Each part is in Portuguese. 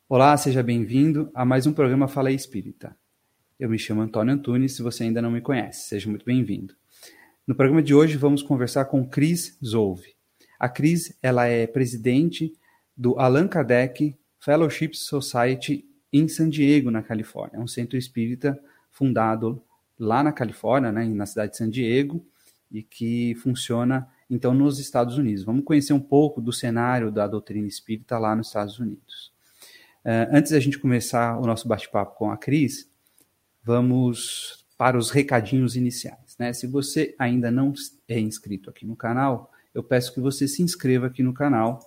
Olá, seja bem-vindo a mais um programa Fala aí Espírita. Eu me chamo Antônio Antunes, se você ainda não me conhece, seja muito bem-vindo. No programa de hoje vamos conversar com Cris Zolve. A Cris, ela é presidente do Allan Kardec Fellowship Society em San Diego, na Califórnia. É um centro espírita fundado lá na Califórnia, né, na cidade de San Diego, e que funciona, então, nos Estados Unidos. Vamos conhecer um pouco do cenário da doutrina espírita lá nos Estados Unidos. Antes da gente começar o nosso bate-papo com a Cris, vamos para os recadinhos iniciais, né? Se você ainda não é inscrito aqui no canal, eu peço que você se inscreva aqui no canal.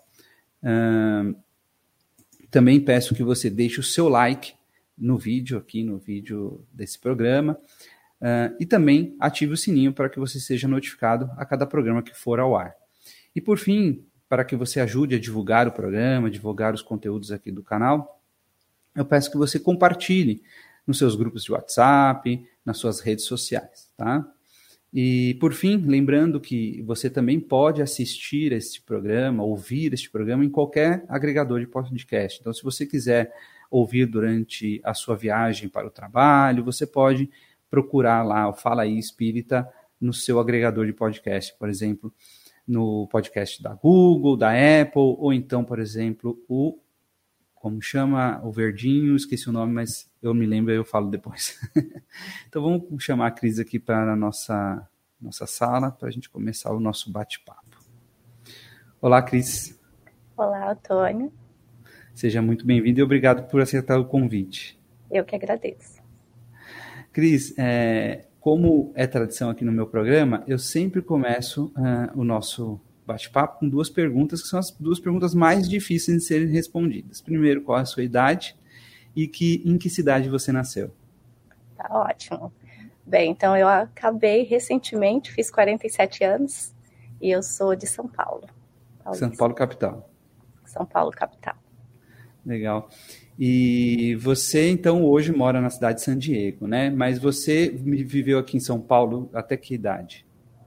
Também peço que você deixe o seu like no vídeo desse programa, e também ative o sininho para que você seja notificado a cada programa que for ao ar. E por fim, para que você ajude a divulgar o programa, divulgar os conteúdos aqui do canal, eu peço que você compartilhe nos seus grupos de WhatsApp, nas suas redes sociais, tá? E, por fim, lembrando que você também pode assistir este programa, ouvir este programa em qualquer agregador de podcast. Então, se você quiser ouvir durante a sua viagem para o trabalho, você pode procurar lá o Fala aí Espírita no seu agregador de podcast, por exemplo, no podcast da Google, da Apple, ou então, por exemplo, como chama o verdinho, esqueci o nome, mas eu me lembro e eu falo depois. Então vamos chamar a Cris aqui para a nossa sala, para a gente começar o nosso bate-papo. Olá, Cris. Olá, Antônio. Seja muito bem-vindo e obrigado por aceitar o convite. Eu que agradeço. Cris, como é tradição aqui no meu programa, eu sempre começo o nosso bate-papo com duas perguntas, que são as duas perguntas mais difíceis de serem respondidas. Primeiro, qual é a sua idade e em que cidade você nasceu? Tá ótimo. Bem, então eu acabei recentemente, fiz 47 anos e eu sou de São Paulo. São Paulo, capital. São Paulo, capital. Legal. E você, então, hoje mora na cidade de San Diego, né? Mas você viveu aqui em São Paulo até que idade?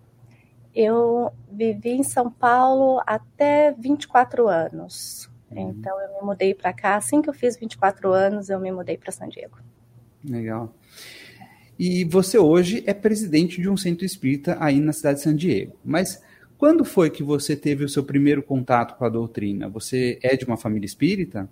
Eu vivi em São Paulo até 24 anos. Então, eu me mudei para cá. Assim que eu fiz 24 anos, eu me mudei para San Diego. Legal. E você hoje é presidente de um centro espírita aí na cidade de San Diego. Mas quando foi que você teve o seu primeiro contato com a doutrina? Você é de uma família espírita?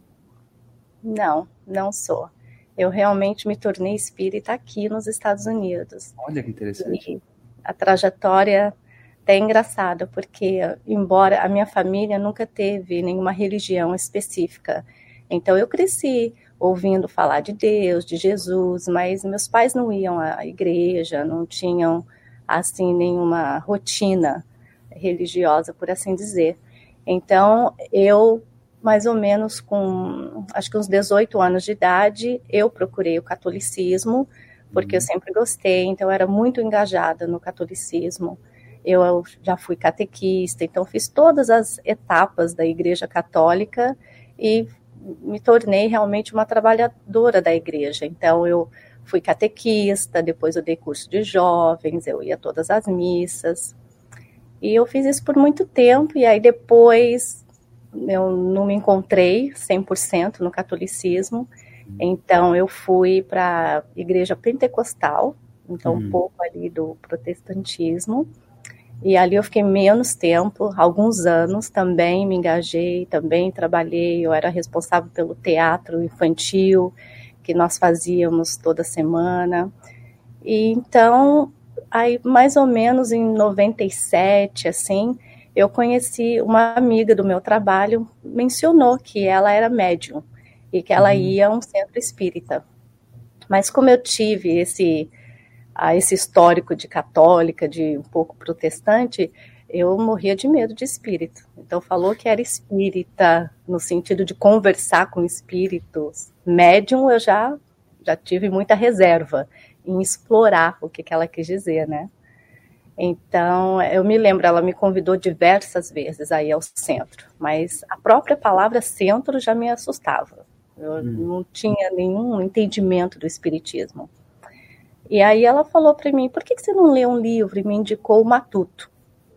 Não, não sou. Eu realmente me tornei espírita aqui nos Estados Unidos. Olha que interessante. E a trajetória é engraçada, porque embora a minha família nunca teve nenhuma religião específica, então eu cresci ouvindo falar de Deus, de Jesus, mas meus pais não iam à igreja, não tinham assim nenhuma rotina religiosa, por assim dizer. Então eu, mais ou menos com acho que uns 18 anos de idade, eu procurei o catolicismo, porque eu sempre gostei, então eu era muito engajada no catolicismo. Eu já fui catequista, então fiz todas as etapas da Igreja Católica e me tornei realmente uma trabalhadora da igreja. Então eu fui catequista, depois eu dei curso de jovens, eu ia a todas as missas. E eu fiz isso por muito tempo, e aí depois eu não me encontrei 100% no catolicismo, então eu fui para a igreja pentecostal, então um pouco ali do protestantismo. E ali eu fiquei menos tempo, alguns anos, também me engajei, também trabalhei, eu era responsável pelo teatro infantil, que nós fazíamos toda semana. E então, aí mais ou menos em 97, assim, eu conheci uma amiga do meu trabalho, mencionou que ela era médium e que ela ia a um centro espírita. Mas como eu tive esse histórico de católica, de um pouco protestante, eu morria de medo de espírito. Então falou que era espírita, no sentido de conversar com espíritos. Médium eu já tive muita reserva em explorar o que ela quis dizer, né? Então, eu me lembro, ela me convidou diversas vezes aí ao centro, mas a própria palavra centro já me assustava. Eu não tinha nenhum entendimento do espiritismo. E aí ela falou para mim, por que você não lê um livro? E me indicou o Matuto.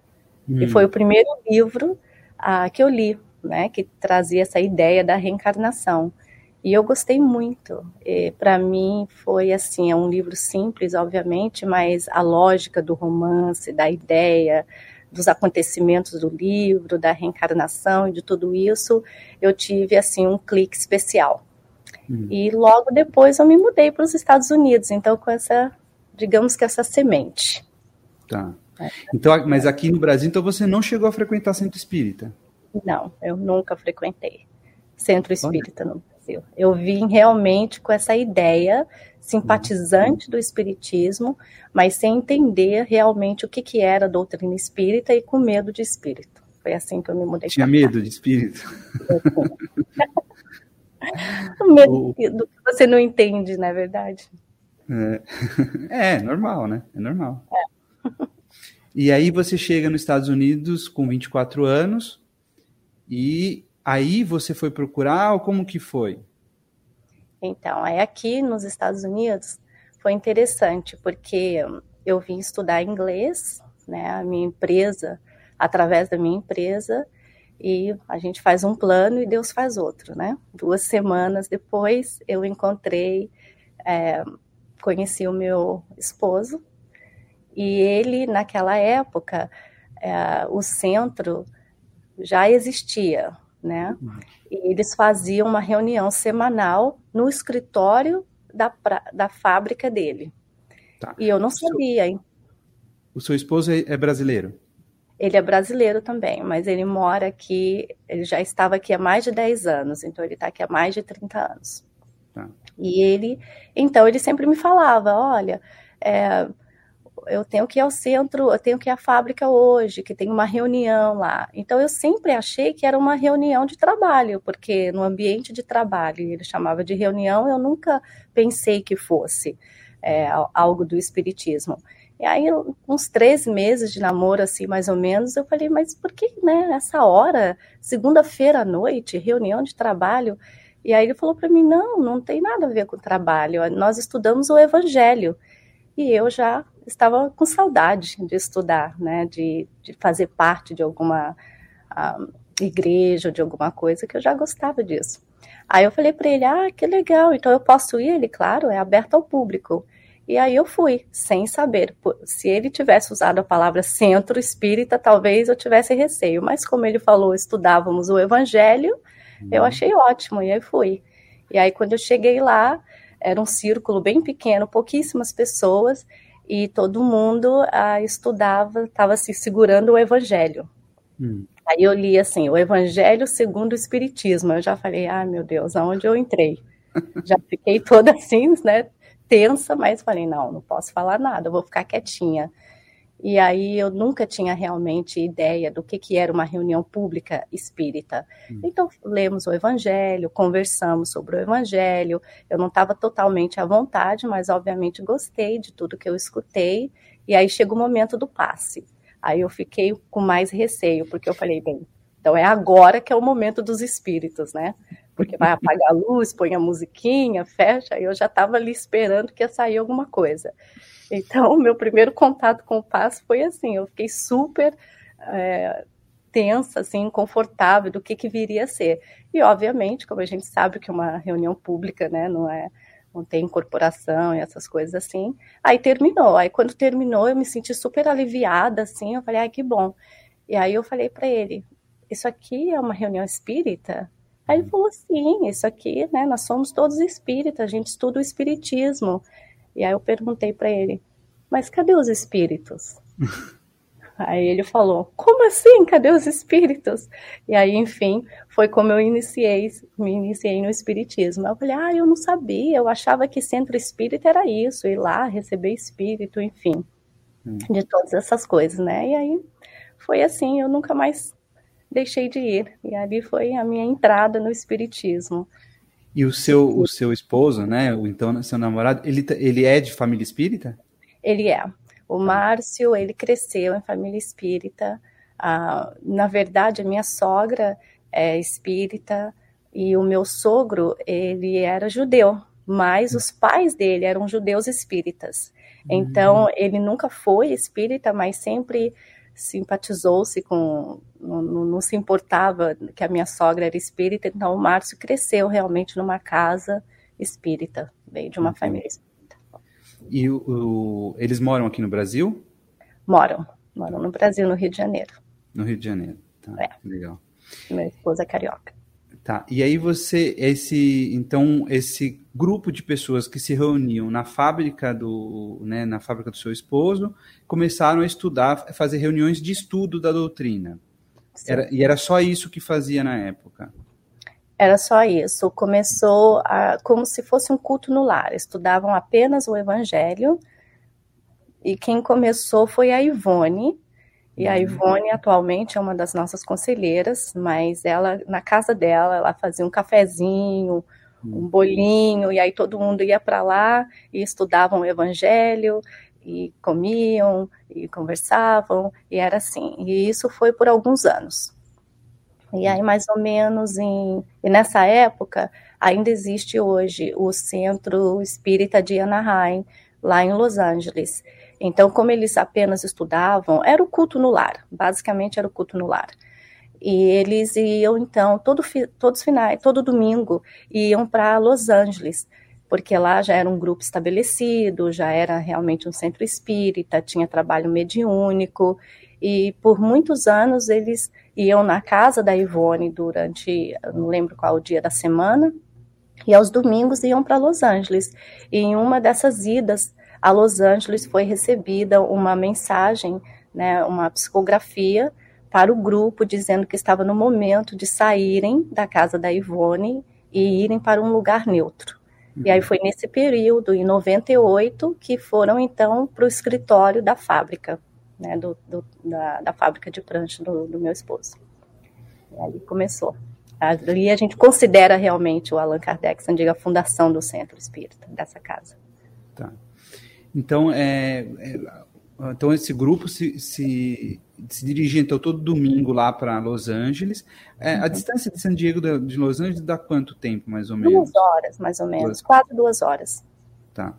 E foi o primeiro livro que eu li, né, que trazia essa ideia da reencarnação. E eu gostei muito. Para mim foi assim, é um livro simples, obviamente, mas a lógica do romance, da ideia, dos acontecimentos do livro, da reencarnação e de tudo isso, eu tive assim um clique especial. E logo depois eu me mudei para os Estados Unidos, então com essa, digamos que essa semente. Tá. Então, mas aqui no Brasil, então você não chegou a frequentar centro espírita? Não, eu nunca frequentei centro espírita no Brasil. Eu vim realmente com essa ideia simpatizante do espiritismo, mas sem entender realmente o que era a doutrina espírita e com medo de espírito. Foi assim que eu me mudei. Tinha medo de espírito? O medo do que você não entende, não é verdade? É normal, né? É normal. E aí você chega nos Estados Unidos com 24 anos e aí você foi procurar ou como que foi? Então, aí aqui nos Estados Unidos foi interessante, porque eu vim estudar inglês, né, a minha empresa, através da minha empresa, e a gente faz um plano e Deus faz outro, né? 2 semanas depois eu encontrei, conheci o meu esposo, e ele, naquela época, o centro já existia, né? E eles faziam uma reunião semanal no escritório da fábrica dele. Tá. E eu não sabia, hein? O seu esposo é brasileiro? Ele é brasileiro também, mas ele mora aqui, ele já estava aqui há mais de 10 anos, então ele está aqui há mais de 30 anos. Tá. E então ele sempre me falava, olha, eu tenho que ir ao centro, eu tenho que ir à fábrica hoje, que tem uma reunião lá. Então eu sempre achei que era uma reunião de trabalho, porque no ambiente de trabalho, ele chamava de reunião, eu nunca pensei que fosse algo do espiritismo. E aí, uns 3 meses de namoro, assim, mais ou menos, eu falei, mas por que, né, essa hora, segunda-feira à noite, reunião de trabalho? E aí ele falou para mim, não tem nada a ver com trabalho, nós estudamos o Evangelho. E eu já estava com saudade de estudar, né, de fazer parte de alguma igreja, de alguma coisa, que eu já gostava disso. Aí eu falei para ele, que legal, então eu posso ir? Ele, claro, é aberto ao público. E aí eu fui, sem saber. Se ele tivesse usado a palavra centro espírita, talvez eu tivesse receio. Mas como ele falou, estudávamos o Evangelho, eu achei ótimo, e aí fui. E aí quando eu cheguei lá, era um círculo bem pequeno, pouquíssimas pessoas, e todo mundo estudava, estava se segurando o Evangelho. Aí eu li assim, o Evangelho segundo o Espiritismo. Eu já falei, meu Deus, aonde eu entrei? Já fiquei toda assim, né, tensa, mas falei, não posso falar nada, eu vou ficar quietinha. E aí eu nunca tinha realmente ideia do que era uma reunião pública espírita. Então lemos o Evangelho, conversamos sobre o Evangelho, eu não estava totalmente à vontade, mas obviamente gostei de tudo que eu escutei, e aí chega o momento do passe. Aí eu fiquei com mais receio, porque eu falei, bem, então é agora que é o momento dos espíritos, né? Porque vai apagar a luz, põe a musiquinha, fecha, e eu já estava ali esperando que ia sair alguma coisa. Então, o meu primeiro contato com o passe foi assim, eu fiquei super tensa, assim, confortável do que viria a ser. E, obviamente, como a gente sabe que uma reunião pública, né, não tem incorporação e essas coisas assim, aí terminou. Aí, quando terminou, eu me senti super aliviada, assim, eu falei, que bom. E aí eu falei para ele, isso aqui é uma reunião espírita? Aí ele falou, sim, isso aqui, né, nós somos todos espíritas, a gente estuda o espiritismo. E aí eu perguntei para ele, mas cadê os espíritos? Aí ele falou, como assim, cadê os espíritos? E aí, enfim, foi como eu me iniciei no espiritismo. Eu falei, eu não sabia, eu achava que centro espírita era isso, ir lá, receber espírito, enfim, de todas essas coisas, né? E aí foi assim, eu nunca mais deixei de ir. E ali foi a minha entrada no espiritismo. E o seu esposo, né, então seu namorado, ele é de família espírita? Ele é. O Márcio, ele cresceu em família espírita. Na verdade, a minha sogra é espírita e o meu sogro, ele era judeu, mas os pais dele eram judeus espíritas. Então, ele nunca foi espírita, mas sempre simpatizou-se com, não se importava que a minha sogra era espírita, então o Márcio cresceu realmente numa casa espírita, veio de uma família espírita. E eles moram aqui no Brasil? Moram no Brasil, no Rio de Janeiro. No Rio de Janeiro, tá, legal. Minha esposa é carioca. Tá, e aí esse grupo de pessoas que se reuniam na fábrica do seu esposo, começaram a estudar, a fazer reuniões de estudo da doutrina. Era só isso que fazia na época? Era só isso. Começou como se fosse um culto no lar. Estudavam apenas o Evangelho. E quem começou foi a Ivone. E a Ivone atualmente é uma das nossas conselheiras, mas ela, na casa dela, ela fazia um cafezinho, um bolinho, e aí todo mundo ia para lá e estudavam o Evangelho, e comiam, e conversavam, e era assim. E isso foi por alguns anos. E aí, mais ou menos, e nessa época, ainda existe hoje o Centro Espírita de Anaheim, lá em Los Angeles. Então, como eles apenas estudavam, era o culto no lar, basicamente era o culto no lar. E eles iam, então, todo domingo, iam para Los Angeles, porque lá já era um grupo estabelecido, já era realmente um centro espírita, tinha trabalho mediúnico, e por muitos anos eles iam na casa da Ivone durante, não lembro qual o dia da semana, e aos domingos iam para Los Angeles. E em uma dessas idas a Los Angeles foi recebida uma mensagem, né, uma psicografia para o grupo, dizendo que estava no momento de saírem da casa da Ivone e irem para um lugar neutro. E aí foi nesse período, em 98, que foram então para o escritório da fábrica, né, da fábrica de prancha do meu esposo. E aí começou. Ali a gente considera realmente o Allan Kardec, a fundação do Centro Espírita, dessa casa. Tá. Então, então esse grupo se dirigia então, todo domingo lá para Los Angeles. A distância de San Diego de Los Angeles dá quanto tempo, mais ou menos? 2 horas, mais ou menos. Quase 2 horas. Tá.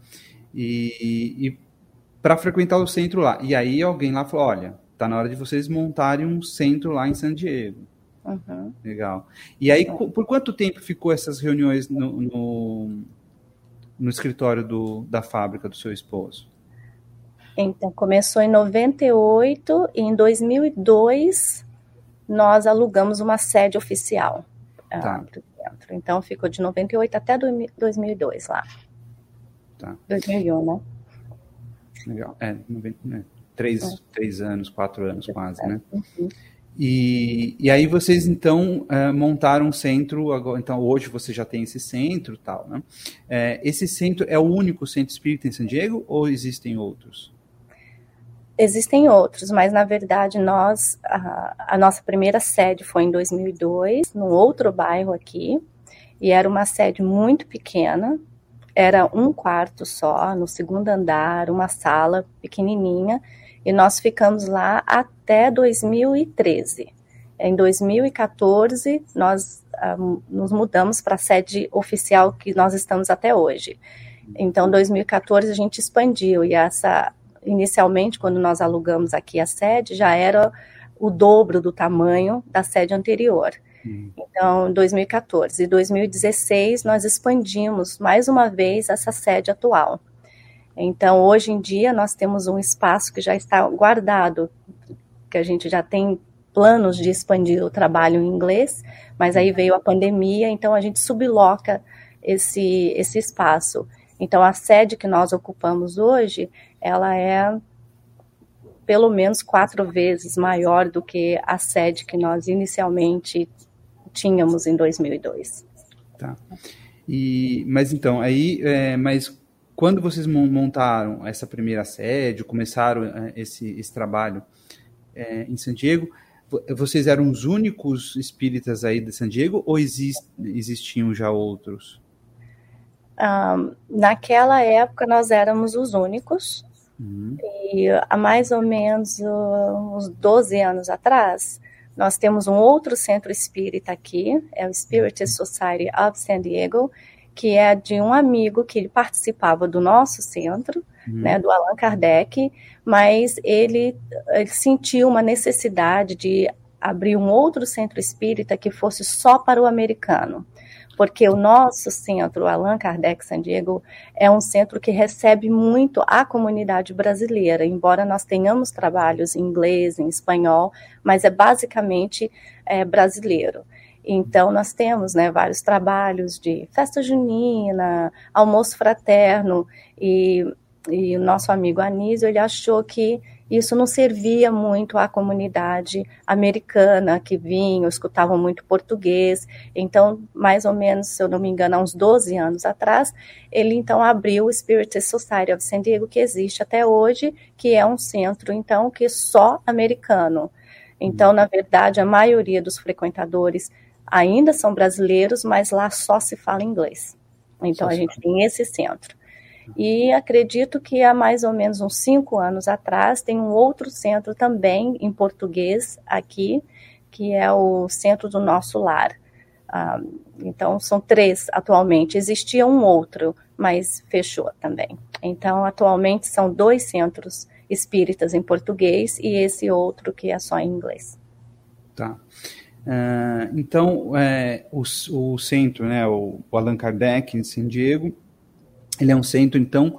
E para frequentar o centro lá. E aí alguém lá falou, olha, tá na hora de vocês montarem um centro lá em San Diego. Legal. E aí, por quanto tempo ficou essas reuniões no escritório da fábrica do seu esposo? Então, começou em 98 e em 2002 nós alugamos uma sede oficial. Tá. Então, ficou de 98 até 2002 lá. Tá. 2001, né? Legal. 3 anos, 4 anos quase, né? E aí vocês, então, montaram um centro, agora, então hoje você já tem esse centro e tal, né? Esse centro é o único centro espírita em San Diego ou existem outros? Existem outros, mas na verdade a nossa primeira sede foi em 2002, num outro bairro aqui, e era uma sede muito pequena, era um quarto só, no segundo andar, uma sala pequenininha, e nós ficamos lá até 2013. Em 2014, nós nos mudamos para a sede oficial que nós estamos até hoje. Então, em 2014, a gente expandiu, e inicialmente, quando nós alugamos aqui a sede, já era o dobro do tamanho da sede anterior. Então, em 2014 e 2016, nós expandimos mais uma vez essa sede atual. Então, hoje em dia, nós temos um espaço que já está guardado, que a gente já tem planos de expandir o trabalho em inglês, mas aí veio a pandemia, então a gente subloca esse espaço. Então, a sede que nós ocupamos hoje, ela é pelo menos 4 vezes maior do que a sede que nós inicialmente tínhamos em 2002. Tá. Mas então, mas quando vocês montaram essa primeira sede, começaram esse trabalho em San Diego, vocês eram os únicos espíritas aí de San Diego ou existiam já outros? Naquela época nós éramos os únicos, e há mais ou menos uns 12 anos atrás, nós temos um outro centro espírita aqui, é o Spirit Society of San Diego, que é de um amigo que ele participava do nosso centro, né, do Allan Kardec, mas ele sentiu uma necessidade de abrir um outro centro espírita que fosse só para o americano. Porque o nosso centro, o Allan Kardec San Diego, é um centro que recebe muito a comunidade brasileira, embora nós tenhamos trabalhos em inglês, em espanhol, mas é basicamente brasileiro. Então, nós temos, né, vários trabalhos de festa junina, almoço fraterno, e o nosso amigo Anísio, ele achou que isso não servia muito à comunidade americana que vinha, escutavam muito português. Então, mais ou menos, se eu não me engano, há uns 12 anos atrás, ele então abriu o Spiritist Society of San Diego, que existe até hoje, que é um centro, então, que é só americano. Então, na verdade, a maioria dos frequentadores ainda são brasileiros, mas lá só se fala inglês. Então, a gente tem esse centro. E acredito que há mais ou menos uns 5 anos atrás tem um outro centro também em português aqui, que é o Centro do Nosso Lar. Então, são 3 atualmente. Existia um outro, mas fechou também. Então, atualmente são 2 centros espíritas em português e esse outro que é só em inglês. Tá. Então, o centro, né, o Allan Kardec em San Diego, ele é um centro, então,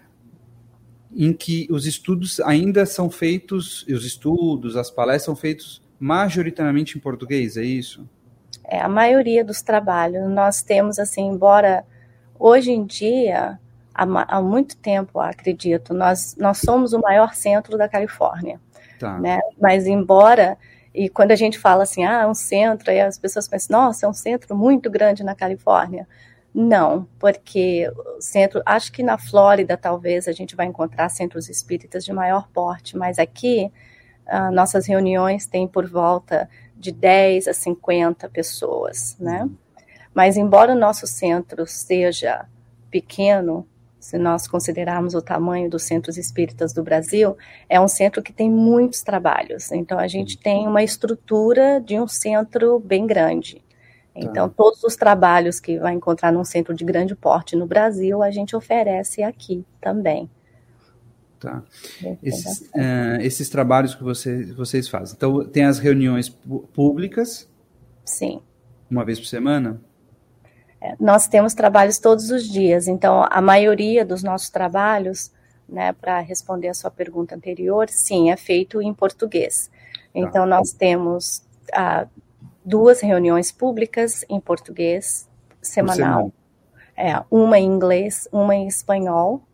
em que os estudos ainda são feitos, as palestras são feitos majoritariamente em português, é isso? A maioria dos trabalhos. Nós temos, assim, embora hoje em dia, há muito tempo, acredito, nós somos o maior centro da Califórnia. Tá. Né? Mas embora, e quando a gente fala assim, um centro, aí as pessoas pensam, nossa, é um centro muito grande na Califórnia. Não, porque o centro, acho que na Flórida talvez a gente vai encontrar centros espíritas de maior porte, mas aqui nossas reuniões têm por volta de 10 a 50 pessoas, né? Mas embora o nosso centro seja pequeno, se nós considerarmos o tamanho dos centros espíritas do Brasil, é um centro que tem muitos trabalhos, então a gente tem uma estrutura de um centro bem grande. Então, todos os trabalhos que vai encontrar num centro de grande porte no Brasil, a gente oferece aqui também. Tá. Esses trabalhos que vocês fazem. Então, tem as reuniões públicas? Sim. Uma vez por semana? Nós temos trabalhos todos os dias. Então, a maioria dos nossos trabalhos, né, para responder a sua pergunta anterior, sim, é feito em português. Então, nós temos 2 reuniões públicas em português semanal. Uma em inglês, uma em espanhol.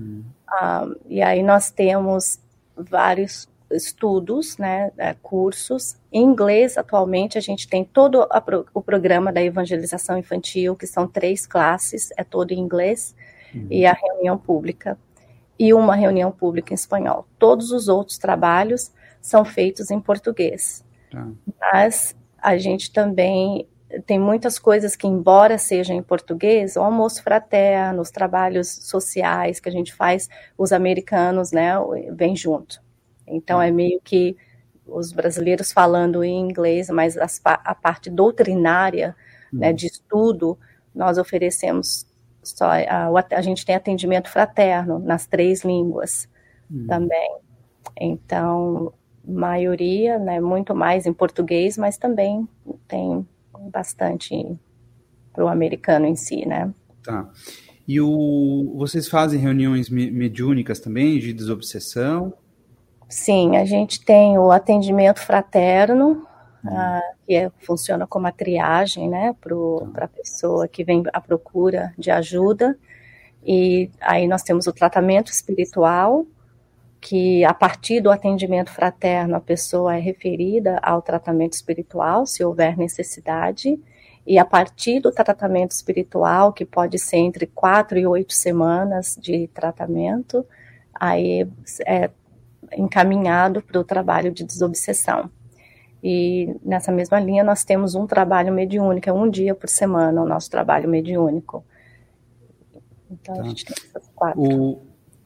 E aí nós temos vários estudos, né, cursos. Em inglês, atualmente, a gente tem todo o programa da evangelização infantil, que são 3 classes, é todo em inglês, e a reunião pública. E uma reunião pública em espanhol. Todos os outros trabalhos são feitos em português. Mas a gente também tem muitas coisas que, embora sejam em português, o almoço fraterno, os trabalhos sociais que a gente faz, os americanos, né, vêm junto. Então, é meio que os brasileiros falando em inglês, mas a parte doutrinária, né, de estudo, nós oferecemos só, a gente tem atendimento fraterno nas 3 línguas também. Então, maioria, né, muito mais em português, mas também tem bastante para o americano em si, né? Tá. E vocês fazem reuniões mediúnicas também, de desobsessão? Sim, a gente tem o atendimento fraterno, que funciona como a triagem, né, para a pessoa que vem à procura de ajuda, e aí nós temos o tratamento espiritual, que a partir do atendimento fraterno a pessoa é referida ao tratamento espiritual, se houver necessidade, e a partir do tratamento espiritual, que pode ser entre 4 e 8 semanas de tratamento, aí é encaminhado para o trabalho de desobsessão. E nessa mesma linha nós temos um trabalho mediúnico, é 1 dia por semana o nosso trabalho mediúnico. Então a gente tem essas 4.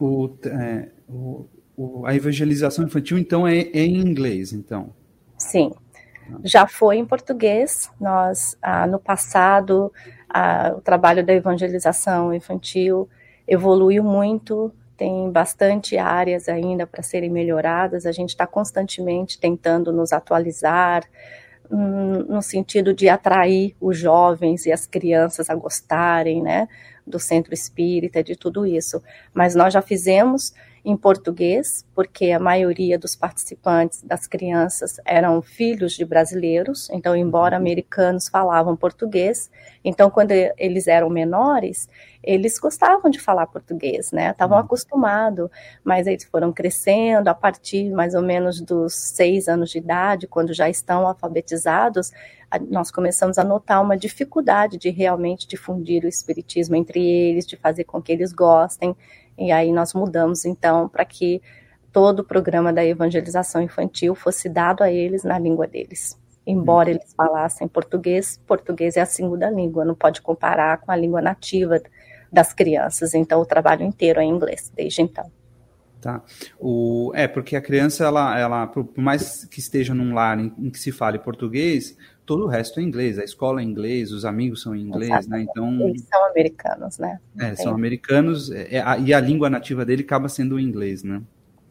A evangelização infantil, então, é em inglês, então? Sim. Já foi em português. Nós, no passado, O trabalho da evangelização infantil evoluiu muito, tem bastante áreas ainda para serem melhoradas, a gente está constantemente tentando nos atualizar, no sentido de atrair os jovens e as crianças a gostarem, né, do centro espírita, de tudo isso. Mas nós já fizemos em português, porque a maioria dos participantes, das crianças, eram filhos de brasileiros, então, embora americanos falavam português, então, quando eles eram menores, eles gostavam de falar português, né, estavam acostumados, mas eles foram crescendo, a partir mais ou menos dos 6 anos de idade, quando já estão alfabetizados, nós começamos a notar uma dificuldade de realmente difundir o espiritismo entre eles, de fazer com que eles gostem, e aí nós mudamos, então, para que todo o programa da evangelização infantil fosse dado a eles na língua deles. Embora eles falassem português, português é a segunda língua, não pode comparar com a língua nativa das crianças, então o trabalho inteiro é em inglês, desde então. Tá. Porque a criança, ela, por mais que esteja num lar em que se fale português, todo o resto é inglês, a escola é inglês, os amigos são em inglês, exatamente, né? Então, eles são americanos, né? São americanos, e a língua nativa dele acaba sendo o inglês, né?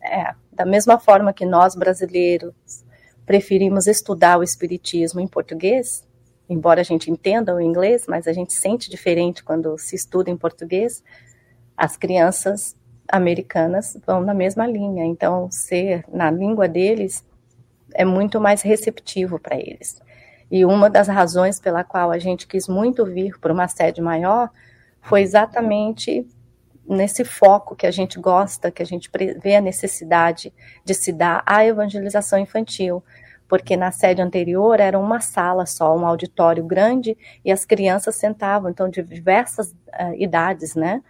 Da mesma forma que nós, brasileiros, preferimos estudar o espiritismo em português, embora a gente entenda o inglês, mas a gente sente diferente quando se estuda em português, as crianças americanas vão na mesma linha, então ser na língua deles é muito mais receptivo para eles. E uma das razões pela qual a gente quis muito vir para uma sede maior foi exatamente nesse foco que a gente gosta, que a gente vê a necessidade de se dar à evangelização infantil, porque na sede anterior era uma sala só, um auditório grande, e as crianças sentavam, então, de diversas idades, né,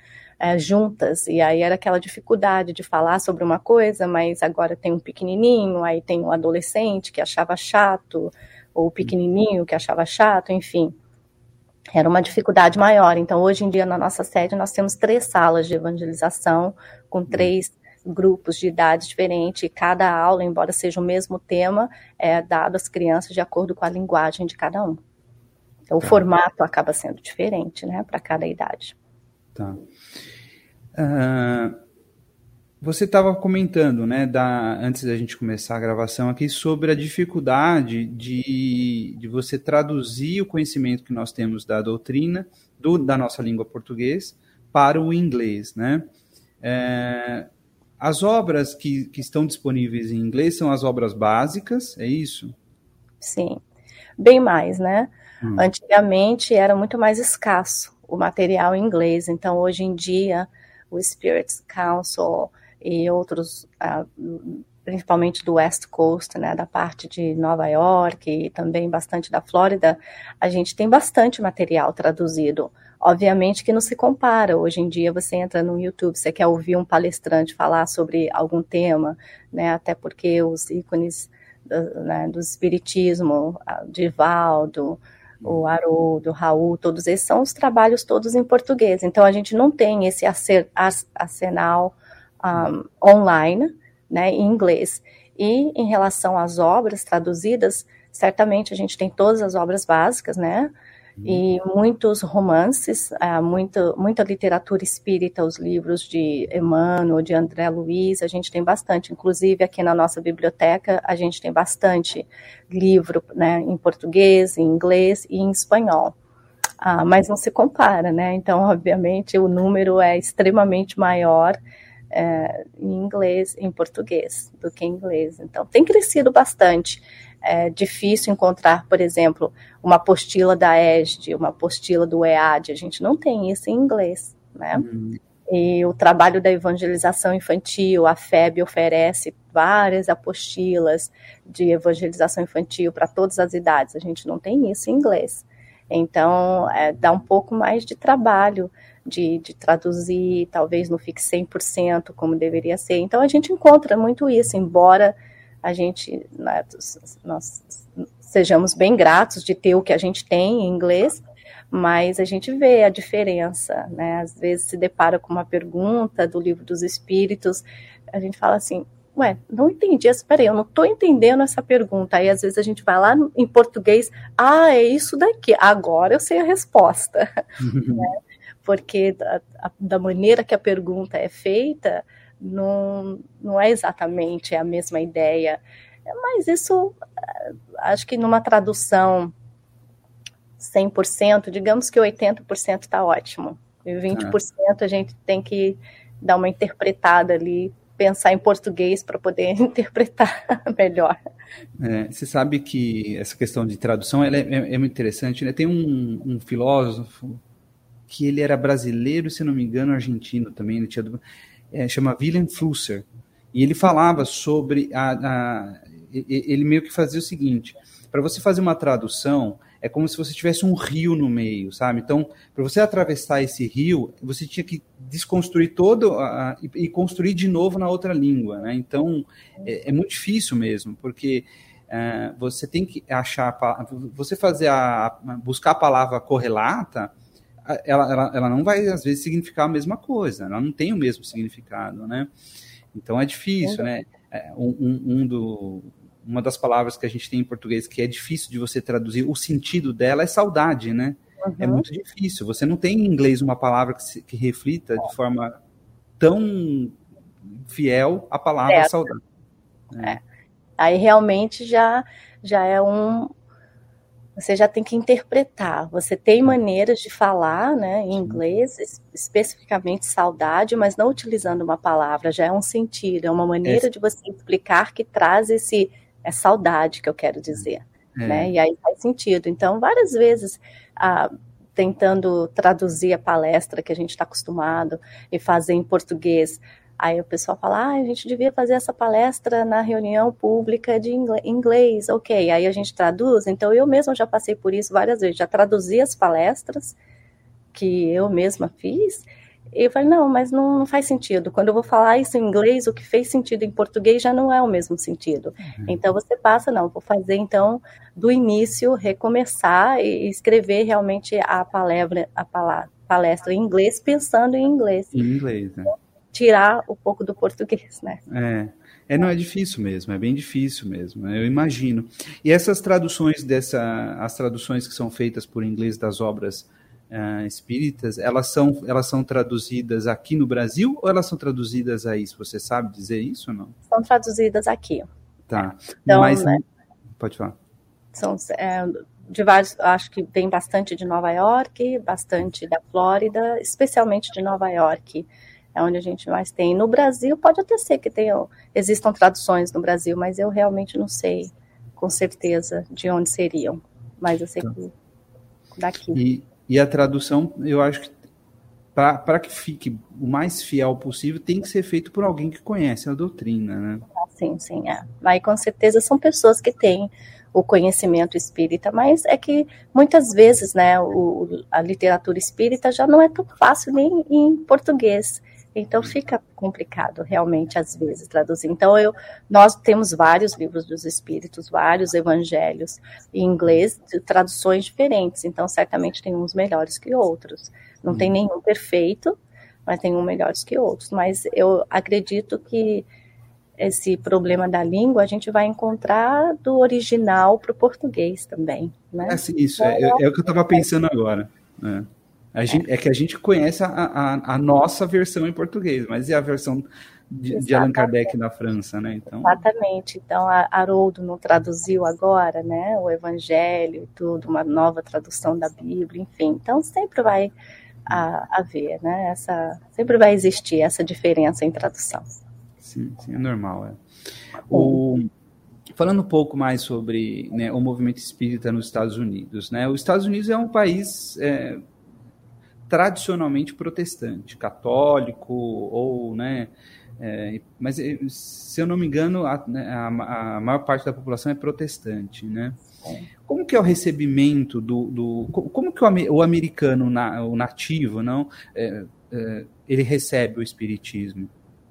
juntas, e aí era aquela dificuldade de falar sobre uma coisa, mas agora tem um pequenininho, aí tem um adolescente que achava chato, ou o pequenininho que achava chato, enfim, era uma dificuldade maior. Então, hoje em dia, na nossa sede, nós temos 3 salas de evangelização, com 3 grupos de idade diferentes, e cada aula, embora seja o mesmo tema, é dado às crianças de acordo com a linguagem de cada um. Então, o formato acaba sendo diferente, né, para cada idade. Tá. Você estava comentando, né, antes da gente começar a gravação aqui, sobre a dificuldade de você traduzir o conhecimento que nós temos da doutrina, da nossa língua portuguesa, para o inglês, né? As obras que estão disponíveis em inglês são as obras básicas, é isso? Sim, bem mais, né? Antigamente era muito mais escasso o material em inglês, então hoje em dia o Spirit Council e outros, principalmente do West Coast, né, da parte de Nova York e também bastante da Flórida, a gente tem bastante material traduzido. Obviamente que não se compara. Hoje em dia você entra no YouTube, você quer ouvir um palestrante falar sobre algum tema, né, até porque os ícones do espiritismo, Divaldo, o Haroldo, o Raul, todos esses são os trabalhos todos em português. Então a gente não tem esse arsenal online, né, em inglês. E em relação às obras traduzidas, certamente a gente tem todas as obras básicas, né, e muitos romances, muita literatura espírita, os livros de Emmanuel, de André Luiz, a gente tem bastante. Inclusive aqui na nossa biblioteca a gente tem bastante livro, né, em português, em inglês e em espanhol. Mas não se compara, né? Então, obviamente, o número é extremamente maior em inglês, em português, do que em inglês. Então, tem crescido bastante. É difícil encontrar, por exemplo, uma apostila da ESD, uma apostila do EAD, a gente não tem isso em inglês, né? E o trabalho da evangelização infantil, a FEB oferece várias apostilas de evangelização infantil para todas as idades, a gente não tem isso em inglês. Então, dá um pouco mais de trabalho de traduzir, talvez não fique 100% como deveria ser. Então, a gente encontra muito isso, embora a gente, né, nós sejamos bem gratos de ter o que a gente tem em inglês, mas a gente vê a diferença, né? Às vezes se depara com uma pergunta do Livro dos Espíritos, a gente fala assim, ué, não entendi, espera aí, eu não estou entendendo essa pergunta. Aí às vezes a gente vai lá em português, é isso daqui, agora eu sei a resposta. Né? Porque da maneira que a pergunta é feita, não é exatamente a mesma ideia. Mas isso, acho que numa tradução 100%, digamos que 80% está ótimo. E 20% a gente tem que dar uma interpretada ali, pensar em português para poder interpretar melhor. Você sabe que essa questão de tradução ela é muito interessante, né? Tem um filósofo que ele era brasileiro, se não me engano, argentino também, ele tinha, chama Wilhelm Flusser, e ele falava sobre ele meio que fazia o seguinte: para você fazer uma tradução, é como se você tivesse um rio no meio, sabe? Então, para você atravessar esse rio, você tinha que desconstruir todo e construir de novo na outra língua, né? Então, é muito difícil mesmo, porque você tem que achar, você buscar a palavra correlata, ela não vai, às vezes, significar a mesma coisa, ela não tem o mesmo significado, né? Então, é difícil, né? Uma das palavras que a gente tem em português que é difícil de você traduzir, o sentido dela é saudade, né? Uhum. É muito difícil. Você não tem em inglês uma palavra que reflita de forma tão fiel a palavra saudade. Né? Aí realmente já é você já tem que interpretar. Você tem maneiras de falar, né, em inglês, especificamente saudade, mas não utilizando uma palavra, já é um sentido, é uma maneira de você explicar que traz é saudade que eu quero dizer, né? E aí faz sentido. Então, várias vezes, tentando traduzir a palestra que a gente está acostumado e fazer em português, aí o pessoal fala, a gente devia fazer essa palestra na reunião pública de inglês, ok, aí a gente traduz. Então eu mesma já passei por isso várias vezes, já traduzi as palestras que eu mesma fiz, e eu falei, não, mas não faz sentido, quando eu vou falar isso em inglês, o que fez sentido em português já não é o mesmo sentido. Então você passa, vou fazer então do início, recomeçar e escrever realmente a palestra em inglês, pensando em inglês. Em inglês, né? Tirar um pouco do português, né? Não é difícil mesmo, é bem difícil mesmo, eu imagino. E essas traduções as traduções que são feitas por inglês das obras espíritas, elas são traduzidas aqui no Brasil ou elas são traduzidas aí? Se você sabe dizer isso ou não? São traduzidas aqui. Tá. Então, mas pode falar. São de vários, acho que vem bastante de Nova York, bastante da Flórida, especialmente de Nova York. É onde a gente mais tem. No Brasil, pode até ser que existam traduções no Brasil, mas eu realmente não sei com certeza de onde seriam. Mas eu sei que daqui. E a tradução, eu acho que para que fique o mais fiel possível, tem que ser feito por alguém que conhece a doutrina, né? Sim. Aí com certeza são pessoas que têm o conhecimento espírita, mas é que muitas vezes, né, a literatura espírita já não é tão fácil nem em português. Então fica complicado realmente às vezes traduzir. Então nós temos vários livros dos espíritos, vários evangelhos em inglês, de traduções diferentes. Então certamente tem uns melhores que outros. Não tem nenhum perfeito, mas tem uns melhores que outros. Mas eu acredito que esse problema da língua a gente vai encontrar do original para o português também, né? Isso é o que eu estava pensando agora, né? É que a gente conhece a nossa versão em português, mas e a versão de Allan Kardec na França, né? Então... Exatamente. Então, a Haroldo não traduziu agora, né? O Evangelho e tudo, uma nova tradução da Bíblia, enfim. Então, sempre vai haver, né? Sempre vai existir essa diferença em tradução. Sim, é normal. Falando um pouco mais sobre, né, o movimento espírita nos Estados Unidos, né? Os Estados Unidos é um país... tradicionalmente protestante, católico, ou, né, mas se eu não me engano, a maior parte da população é protestante, né? Como que é o recebimento como que o americano, o nativo, não, ele recebe o espiritismo?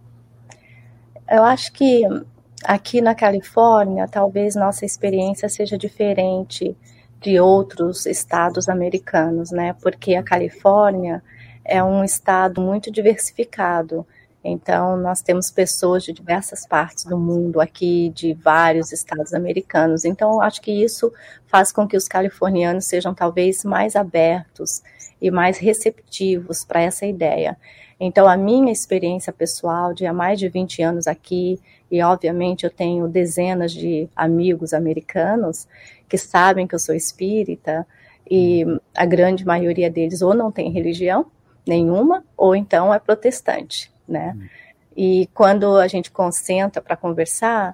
Eu acho que aqui na Califórnia, talvez nossa experiência seja diferente de outros estados americanos, né? Porque a Califórnia é um estado muito diversificado. Então, nós temos pessoas de diversas partes do mundo aqui, de vários estados americanos. Então, acho que isso faz com que os californianos sejam talvez mais abertos e mais receptivos para essa ideia. Então, a minha experiência pessoal de há mais de 20 anos aqui, e obviamente eu tenho dezenas de amigos americanos que sabem que eu sou espírita, e a grande maioria deles ou não tem religião nenhuma, ou então é protestante, né? E quando a gente concentra para conversar,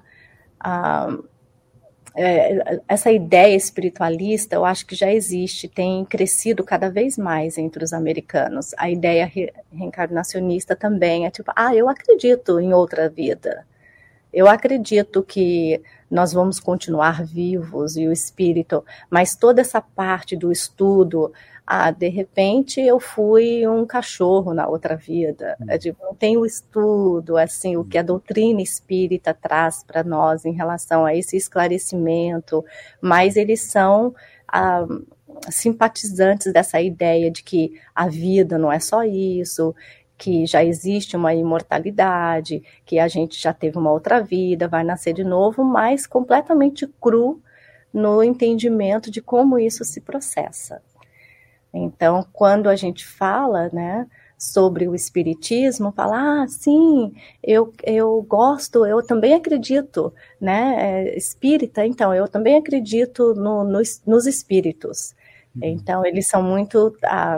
essa ideia espiritualista, eu acho que já existe, tem crescido cada vez mais entre os americanos. A ideia reencarnacionista também é tipo, eu acredito em outra vida. Eu acredito que nós vamos continuar vivos e o espírito, mas toda essa parte do estudo, de repente eu fui um cachorro na outra vida. Não tem o estudo, assim, o que a doutrina espírita traz para nós em relação a esse esclarecimento, mas eles são simpatizantes dessa ideia de que a vida não é só isso, que já existe uma imortalidade, que a gente já teve uma outra vida, vai nascer de novo, mas completamente cru no entendimento de como isso se processa. Então, quando a gente fala, né, sobre o espiritismo, fala, sim, eu gosto, eu também acredito, né, espírita, então, eu também acredito nos espíritos. Então, eles são muito...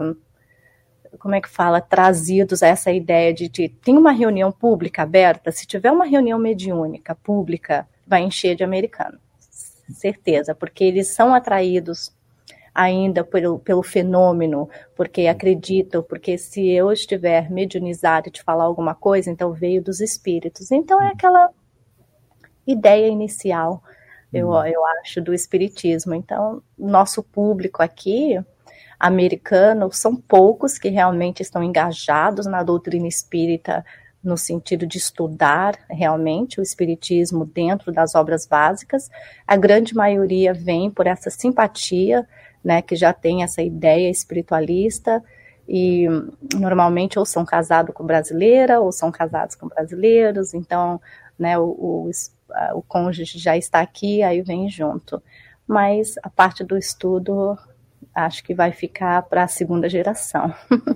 como é que fala, trazidos a essa ideia de tem uma reunião pública aberta, se tiver uma reunião mediúnica pública, vai encher de americano, certeza, porque eles são atraídos ainda pelo fenômeno, porque acreditam, porque se eu estiver mediunizado e te falar alguma coisa, então veio dos espíritos. Então é aquela ideia inicial, eu acho, do espiritismo. Então, nosso público aqui americano, são poucos que realmente estão engajados na doutrina espírita no sentido de estudar realmente o espiritismo dentro das obras básicas. A grande maioria vem por essa simpatia, né, que já tem essa ideia espiritualista, e normalmente ou são casados com brasileira ou são casados com brasileiros, então, né, o cônjuge já está aqui, aí vem junto. Mas a parte do estudo acho que vai ficar para a segunda geração.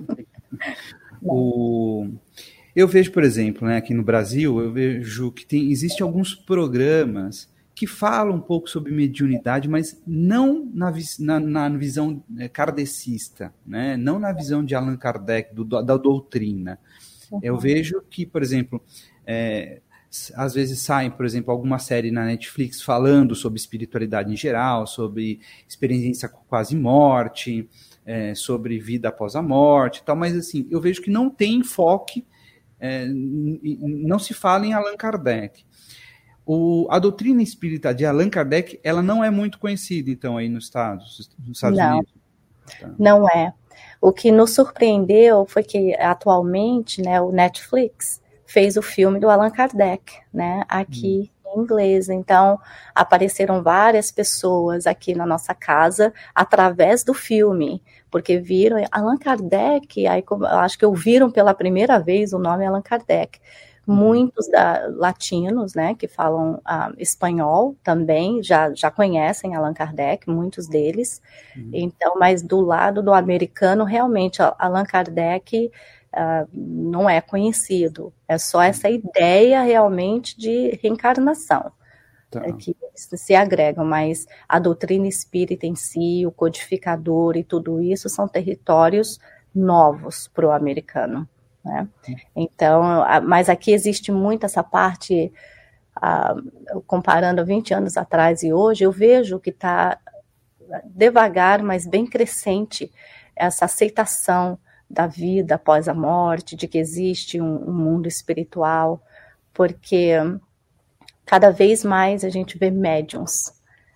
Eu vejo, por exemplo, né, aqui no Brasil, eu vejo que existem alguns programas que falam um pouco sobre mediunidade, mas não na visão kardecista, né, não na visão de Allan Kardec, da doutrina. Eu vejo que, por exemplo, às vezes sai, por exemplo, alguma série na Netflix falando sobre espiritualidade em geral, sobre experiência com quase morte, sobre vida após a morte e tal, mas assim, eu vejo que não tem enfoque, não se fala em Allan Kardec. A doutrina espírita de Allan Kardec, ela não é muito conhecida, então, aí nos Estados Unidos. Tá. Não é. O que nos surpreendeu foi que, atualmente, né, o Netflix fez o filme do Allan Kardec, né, aqui em inglês. Então, apareceram várias pessoas aqui na nossa casa através do filme, porque viram Allan Kardec, aí acho que ouviram pela primeira vez o nome Allan Kardec. Muitos latinos, né, que falam espanhol também, já conhecem Allan Kardec, muitos deles. Então, mas do lado do americano, realmente, Allan Kardec não é conhecido. É só essa ideia realmente de reencarnação, que se agregam, mas a doutrina espírita em si, o codificador e tudo isso são territórios novos para o americano. Né? Então, mas aqui existe muito essa parte, comparando 20 anos atrás e hoje, eu vejo que está devagar, mas bem crescente, essa aceitação da vida após a morte, de que existe um mundo espiritual, porque cada vez mais a gente vê médiums,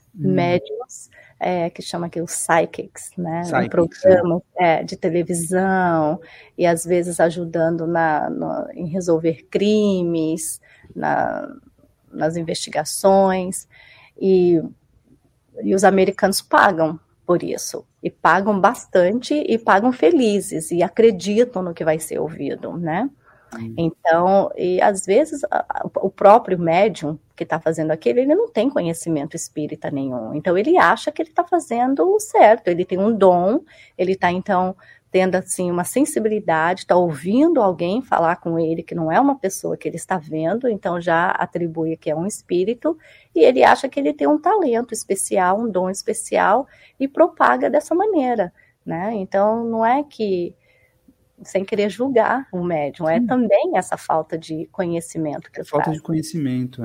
que chama aqui os psychics, né? Em programas de televisão, e às vezes ajudando em resolver crimes, nas investigações, e os americanos pagam por isso, e pagam bastante, e pagam felizes, e acreditam no que vai ser ouvido, né? Então, e às vezes o próprio médium que está fazendo aquilo, ele não tem conhecimento espírita nenhum. Então, ele acha que ele está fazendo o certo. Ele tem um dom, ele está, então, tendo, assim, uma sensibilidade, está ouvindo alguém falar com ele, que não é uma pessoa que ele está vendo, então já atribui que é um espírito, e ele acha que ele tem um talento especial, um dom especial, e propaga dessa maneira, né? Então, não é que sem querer julgar o médium, é também essa falta de conhecimento que falta traz. de conhecimento,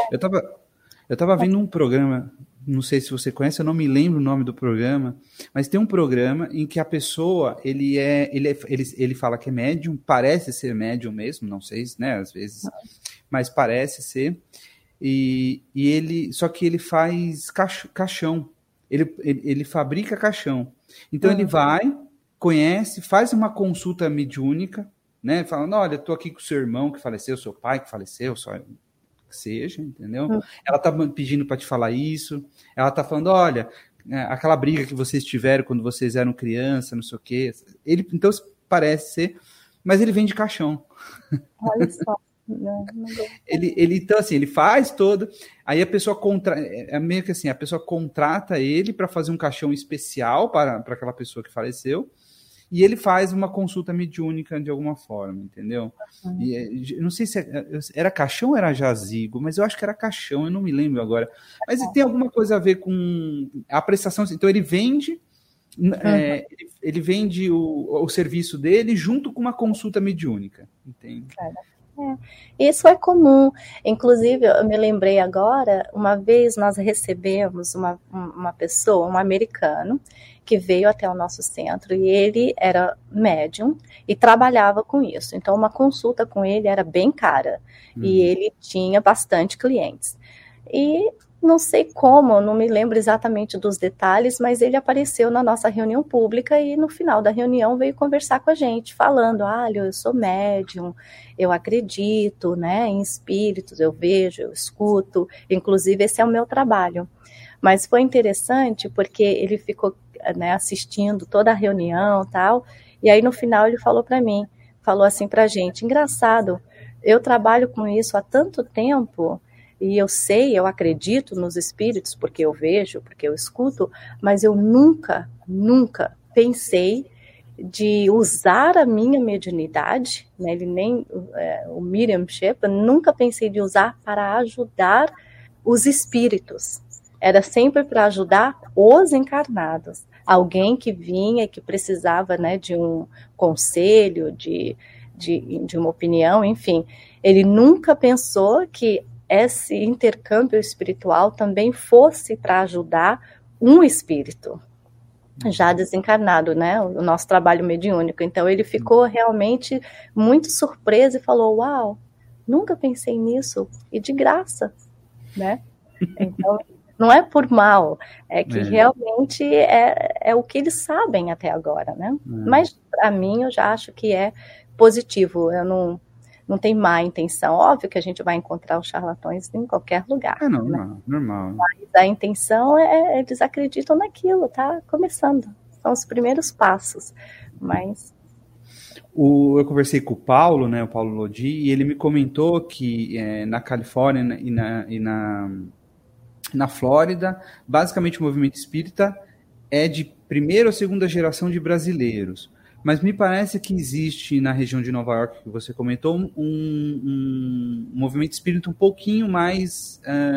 Eu tava vendo um programa, não sei se você conhece, eu não me lembro o nome do programa, mas tem um programa em que a pessoa, ele fala que é médium, parece ser médium mesmo, não sei, né, às vezes, mas parece ser, e ele, só que ele faz caixão, ele fabrica caixão, então ele vai, conhece, faz uma consulta mediúnica, né? Falando, olha, estou aqui com o seu irmão que faleceu, seu pai que faleceu, só que seja, entendeu? Ela tá pedindo para te falar isso, ela tá falando, olha, aquela briga que vocês tiveram quando vocês eram criança, não sei o quê. Ele, então, parece ser, mas ele vem de caixão. Olha só. Então, assim, ele faz todo, aí a pessoa meio que assim, a pessoa contrata ele para fazer um caixão especial para aquela pessoa que faleceu, e ele faz uma consulta mediúnica de alguma forma, entendeu? E, não sei se era caixão ou era jazigo, mas eu acho que era caixão, eu não me lembro agora. Mas tem alguma coisa a ver com a prestação, então ele vende ele vende o serviço dele junto com uma consulta mediúnica, entende? Isso é comum. Inclusive, eu me lembrei agora, uma vez nós recebemos uma pessoa, um americano, que veio até o nosso centro, e ele era médium e trabalhava com isso. Então, uma consulta com ele era bem cara, e ele tinha bastante clientes. E não sei como, não me lembro exatamente dos detalhes, mas ele apareceu na nossa reunião pública e no final da reunião veio conversar com a gente, falando, olha, eu sou médium, eu acredito, né, em espíritos, eu vejo, eu escuto, inclusive esse é o meu trabalho. Mas foi interessante porque ele ficou, né, assistindo toda a reunião e tal, e aí no final ele falou para mim, falou assim pra gente, engraçado, eu trabalho com isso há tanto tempo, e eu sei, eu acredito nos espíritos, porque eu vejo, porque eu escuto, mas eu nunca pensei de usar a minha mediunidade, né, ele nem, o mediumship, eu nunca pensei de usar para ajudar os espíritos. Era sempre para ajudar os encarnados. Alguém que vinha, que precisava, né, de um conselho, de uma opinião, enfim. Ele nunca pensou que esse intercâmbio espiritual também fosse para ajudar um espírito já desencarnado, né, o nosso trabalho mediúnico. Então ele ficou realmente muito surpreso e falou, uau, nunca pensei nisso, e de graça, né? Então não é por mal, é que realmente é o que eles sabem até agora, né? Mas para mim eu já acho que é positivo, eu não tem má intenção. Óbvio que a gente vai encontrar os charlatões em qualquer lugar. É normal, né? Normal. Mas a intenção eles acreditam naquilo, tá começando. São os primeiros passos. Mas eu conversei com o Paulo, né, o Paulo Lodi, e ele me comentou que na Califórnia e na Flórida, basicamente o movimento espírita é de primeira ou segunda geração de brasileiros. Mas me parece que existe na região de Nova York, que você comentou, um movimento espírita um pouquinho mais,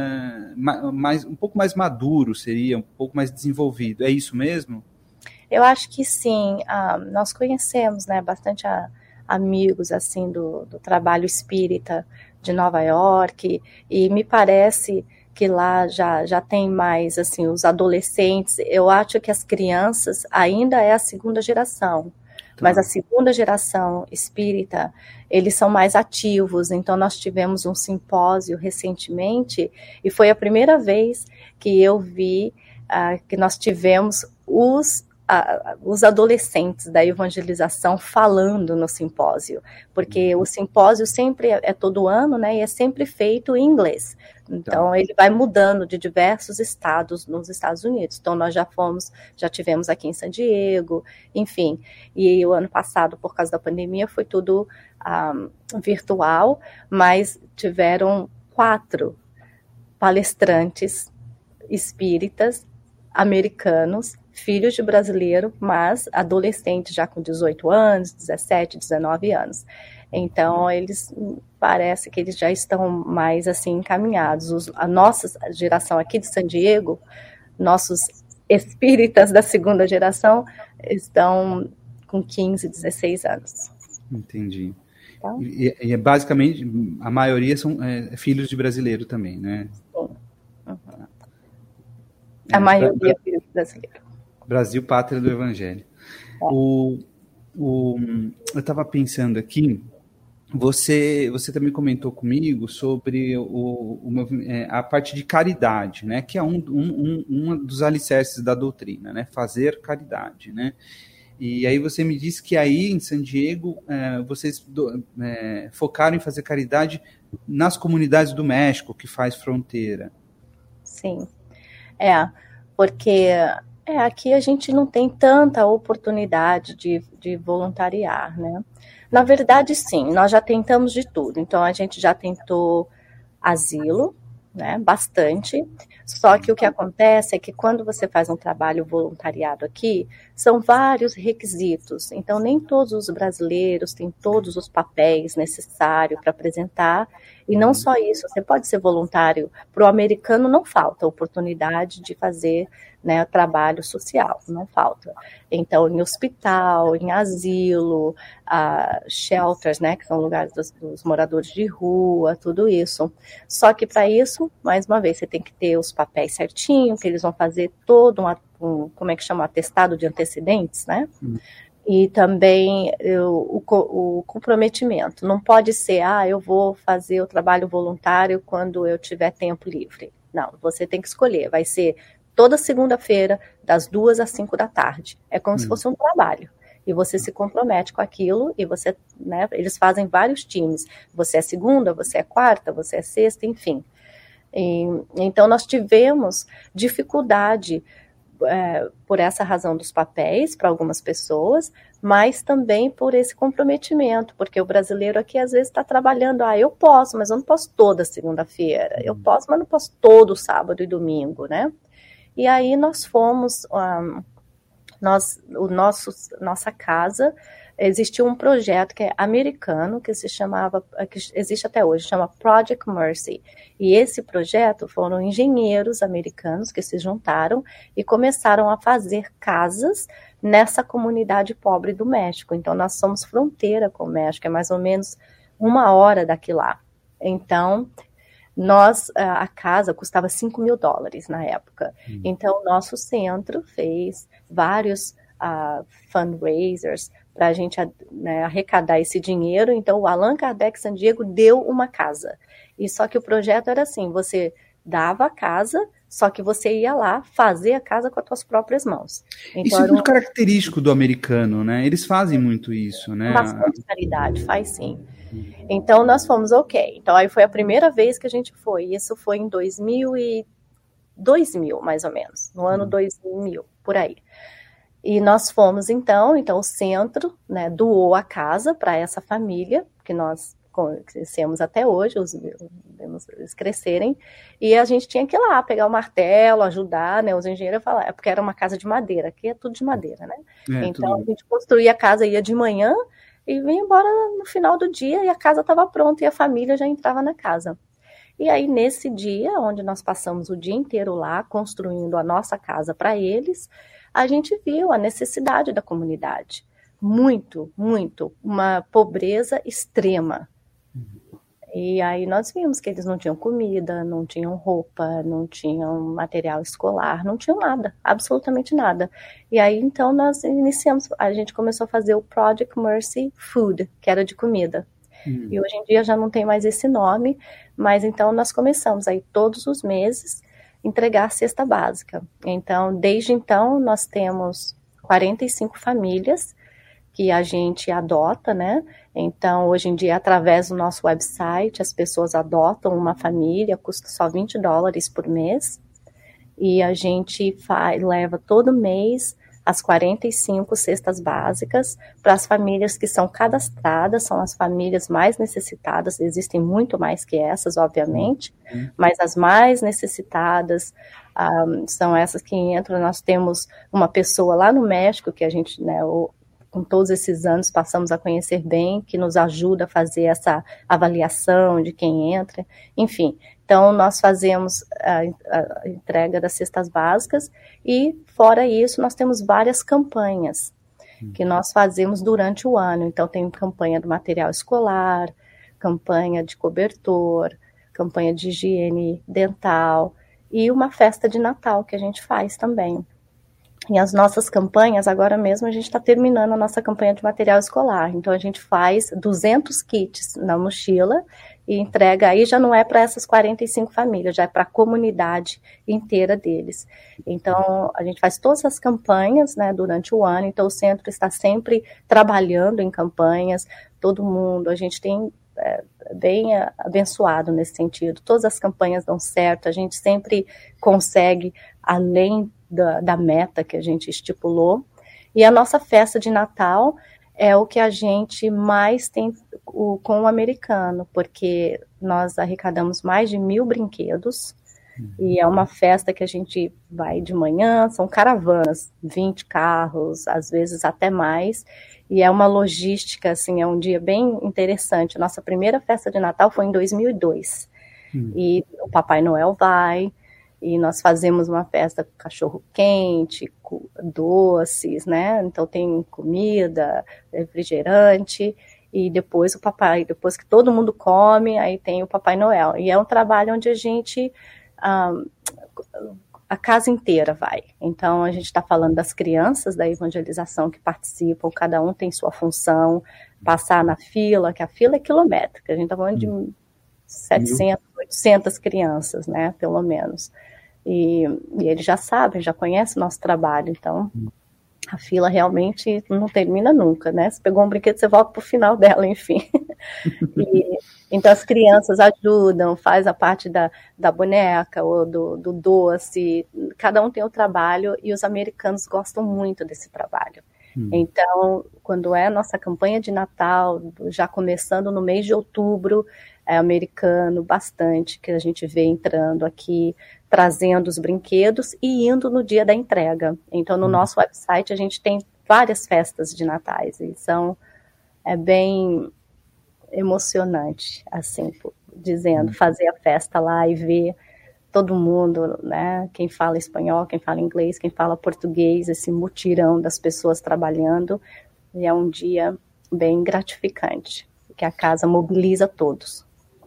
um pouco mais maduro, seria um pouco mais desenvolvido. É isso mesmo? Eu acho que sim. Nós conhecemos, né, bastante amigos assim do trabalho espírita de Nova York, e me parece que lá já tem mais assim os adolescentes. Eu acho que as crianças ainda é a segunda geração. Mas a segunda geração espírita, eles são mais ativos. Então, nós tivemos um simpósio recentemente, e foi a primeira vez que eu vi que nós tivemos os os adolescentes da evangelização falando no simpósio, porque o simpósio sempre é todo ano, né, e é sempre feito em inglês. Então, ele vai mudando de diversos estados nos Estados Unidos. Então, nós já tivemos aqui em San Diego, enfim. E o ano passado, por causa da pandemia, foi tudo virtual, mas tiveram 4 palestrantes espíritas americanos, filhos de brasileiro, mas adolescentes já com 18 anos, 17, 19 anos. Então, parece que eles já estão mais assim encaminhados. A nossa geração aqui de San Diego, nossos espíritas da segunda geração, estão com 15, 16 anos. Entendi. Então, e basicamente, a maioria são filhos de brasileiro também, né? Sim. Uhum. A maioria é filho brasileiro. Brasil, pátria do Evangelho. Eu estava pensando aqui, você também comentou comigo sobre a parte de caridade, né? Que é um dos alicerces da doutrina, né? Fazer caridade, né? E aí você me disse que aí em San Diego vocês focaram em fazer caridade nas comunidades do México, que faz fronteira. Sim, porque aqui a gente não tem tanta oportunidade de voluntariar, né? Na verdade, sim, nós já tentamos de tudo. Então, a gente já tentou asilo, né? Bastante. Só que o que acontece é que quando você faz um trabalho voluntariado aqui, são vários requisitos. Então, nem todos os brasileiros têm todos os papéis necessários para apresentar. E não só isso, você pode ser voluntário. Para o americano não falta oportunidade de fazer, né, trabalho social, não falta. Então, em hospital, em asilo, shelters, né, que são lugares dos moradores de rua, tudo isso. Só que para isso, mais uma vez, você tem que ter os papéis certinho, que eles vão fazer todo como é que chama, atestado de antecedentes, né? E também o comprometimento. Não pode ser, eu vou fazer o trabalho voluntário quando eu tiver tempo livre. Não, você tem que escolher. Vai ser toda segunda-feira, das 2 às 5 da tarde. É como se fosse um trabalho. E você se compromete com aquilo e você, né, eles fazem vários times. Você é segunda, você é quarta, você é sexta, enfim. Então, nós tivemos dificuldade por essa razão dos papéis para algumas pessoas, mas também por esse comprometimento, porque o brasileiro aqui às vezes está trabalhando, eu posso, mas eu não posso toda segunda-feira, eu posso, mas não posso todo sábado e domingo, né? E aí nós fomos, nossa casa, existiu um projeto que é americano, que existe até hoje, chama Project Mercy. E esse projeto foram engenheiros americanos que se juntaram e começaram a fazer casas nessa comunidade pobre do México. Então, nós somos fronteira com o México, é mais ou menos 1 hora daqui lá. Então, a casa custava $5.000 na época. Então, nosso centro fez vários fundraisers para a gente, né, arrecadar esse dinheiro. Então, o Allan Kardec San Diego deu uma casa. E só que o projeto era assim, você dava a casa, só que você ia lá fazer a casa com as suas próprias mãos. Então, isso é muito característico do americano, né? Eles fazem muito isso, né? Bastante caridade, faz sim. Então, nós fomos ok. Então, aí foi a primeira vez que a gente foi. Isso foi em 2000, mais ou menos. No ano 2000, por aí. E nós fomos, então o centro, né, doou a casa para essa família, que nós conhecemos até hoje, eles crescerem, e a gente tinha que ir lá, pegar o martelo, ajudar, né, os engenheiros falaram, porque era uma casa de madeira, aqui é tudo de madeira, né? Então, a gente construía a casa, ia de manhã, e vinha embora no final do dia, e a casa estava pronta, e a família já entrava na casa. E aí, nesse dia, onde nós passamos o dia inteiro lá, construindo a nossa casa para eles, a gente viu a necessidade da comunidade. Muito, muito. Uma pobreza extrema. E aí nós vimos que eles não tinham comida, não tinham roupa, não tinham material escolar, não tinham nada, absolutamente nada. E aí, então, nós iniciamos, a gente começou a fazer o Project Mercy Food, que era de comida. E hoje em dia já não tem mais esse nome, mas então nós começamos aí todos os meses entregar a cesta básica. Então, desde então, nós temos 45 famílias que a gente adota, né? Então, hoje em dia, através do nosso website, as pessoas adotam uma família, custa só $20 por mês, e a gente leva todo mês as 45 cestas básicas para as famílias que são cadastradas, são as famílias mais necessitadas, existem muito mais que essas, obviamente, mas as mais necessitadas são essas que entram. Nós temos uma pessoa lá no México, que a gente, né, com todos esses anos, passamos a conhecer bem, que nos ajuda a fazer essa avaliação de quem entra, enfim. Então, nós fazemos a entrega das cestas básicas e, fora isso, nós temos várias campanhas que nós fazemos durante o ano. Então, tem campanha do material escolar, campanha de cobertor, campanha de higiene dental e uma festa de Natal que a gente faz também. E as nossas campanhas, agora mesmo a gente está terminando a nossa campanha de material escolar. Então, a gente faz 200 kits na mochila e entrega, aí já não é para essas 45 famílias, já é para a comunidade inteira deles. Então, a gente faz todas as campanhas, né, durante o ano, então o centro está sempre trabalhando em campanhas, todo mundo, a gente tem bem abençoado nesse sentido, todas as campanhas dão certo, a gente sempre consegue, além da meta que a gente estipulou, e a nossa festa de Natal é o que a gente mais tem com o americano, porque nós arrecadamos mais de 1.000 brinquedos, e é uma festa que a gente vai de manhã, são caravanas, 20 carros, às vezes até mais, e é uma logística, assim, é um dia bem interessante. Nossa primeira festa de Natal foi em 2002, e o Papai Noel vai, e nós fazemos uma festa com cachorro quente, com doces, né? Então tem comida, refrigerante, e depois depois que todo mundo come, aí tem o Papai Noel. E é um trabalho onde a gente, a casa inteira vai. Então a gente está falando das crianças da evangelização que participam, cada um tem sua função, passar na fila, que a fila é quilométrica, a gente está falando de 700, 800 crianças, né, pelo menos. E eles já sabem, já conhecem o nosso trabalho, então a fila realmente não termina nunca, né? Você pegou um brinquedo, você volta para o final dela, enfim. Então as crianças ajudam, faz a parte da boneca ou do doce, cada um tem o trabalho e os americanos gostam muito desse trabalho. Então, quando é a nossa campanha de Natal, já começando no mês de outubro, é americano bastante, que a gente vê entrando aqui, trazendo os brinquedos e indo no dia da entrega. Então, no nosso website, a gente tem várias festas de natais, e é bem emocionante, assim, dizendo, fazer a festa lá e ver todo mundo, né, quem fala espanhol, quem fala inglês, quem fala português, esse mutirão das pessoas trabalhando, e é um dia bem gratificante, que a casa mobiliza todos.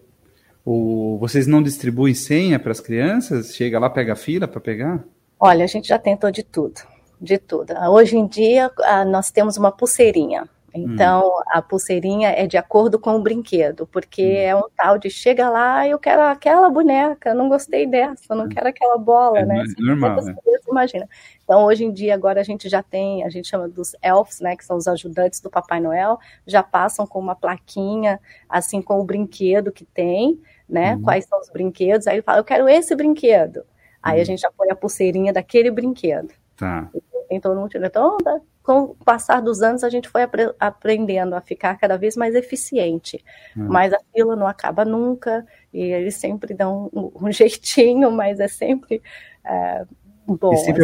Vocês não distribuem senha para as crianças? Chega lá, pega a fila para pegar? Olha, a gente já tentou de tudo, de tudo. Hoje em dia, nós temos uma pulseirinha. Então, a pulseirinha é de acordo com o brinquedo, porque é um tal de chega lá, eu quero aquela boneca, não gostei dessa, não quero aquela bola, né? Normal, né? Imagina. Então, hoje em dia, agora a gente já tem, a gente chama dos elfs, né, que são os ajudantes do Papai Noel, já passam com uma plaquinha, assim, com o brinquedo que tem, né? Quais são os brinquedos, aí ele fala, eu quero esse brinquedo. Aí a gente já põe a pulseirinha daquele brinquedo. Tá. Então, com o passar dos anos, a gente foi aprendendo a ficar cada vez mais eficiente. Mas a fila não acaba nunca, e eles sempre dão um jeitinho, mas é sempre bom. E sempre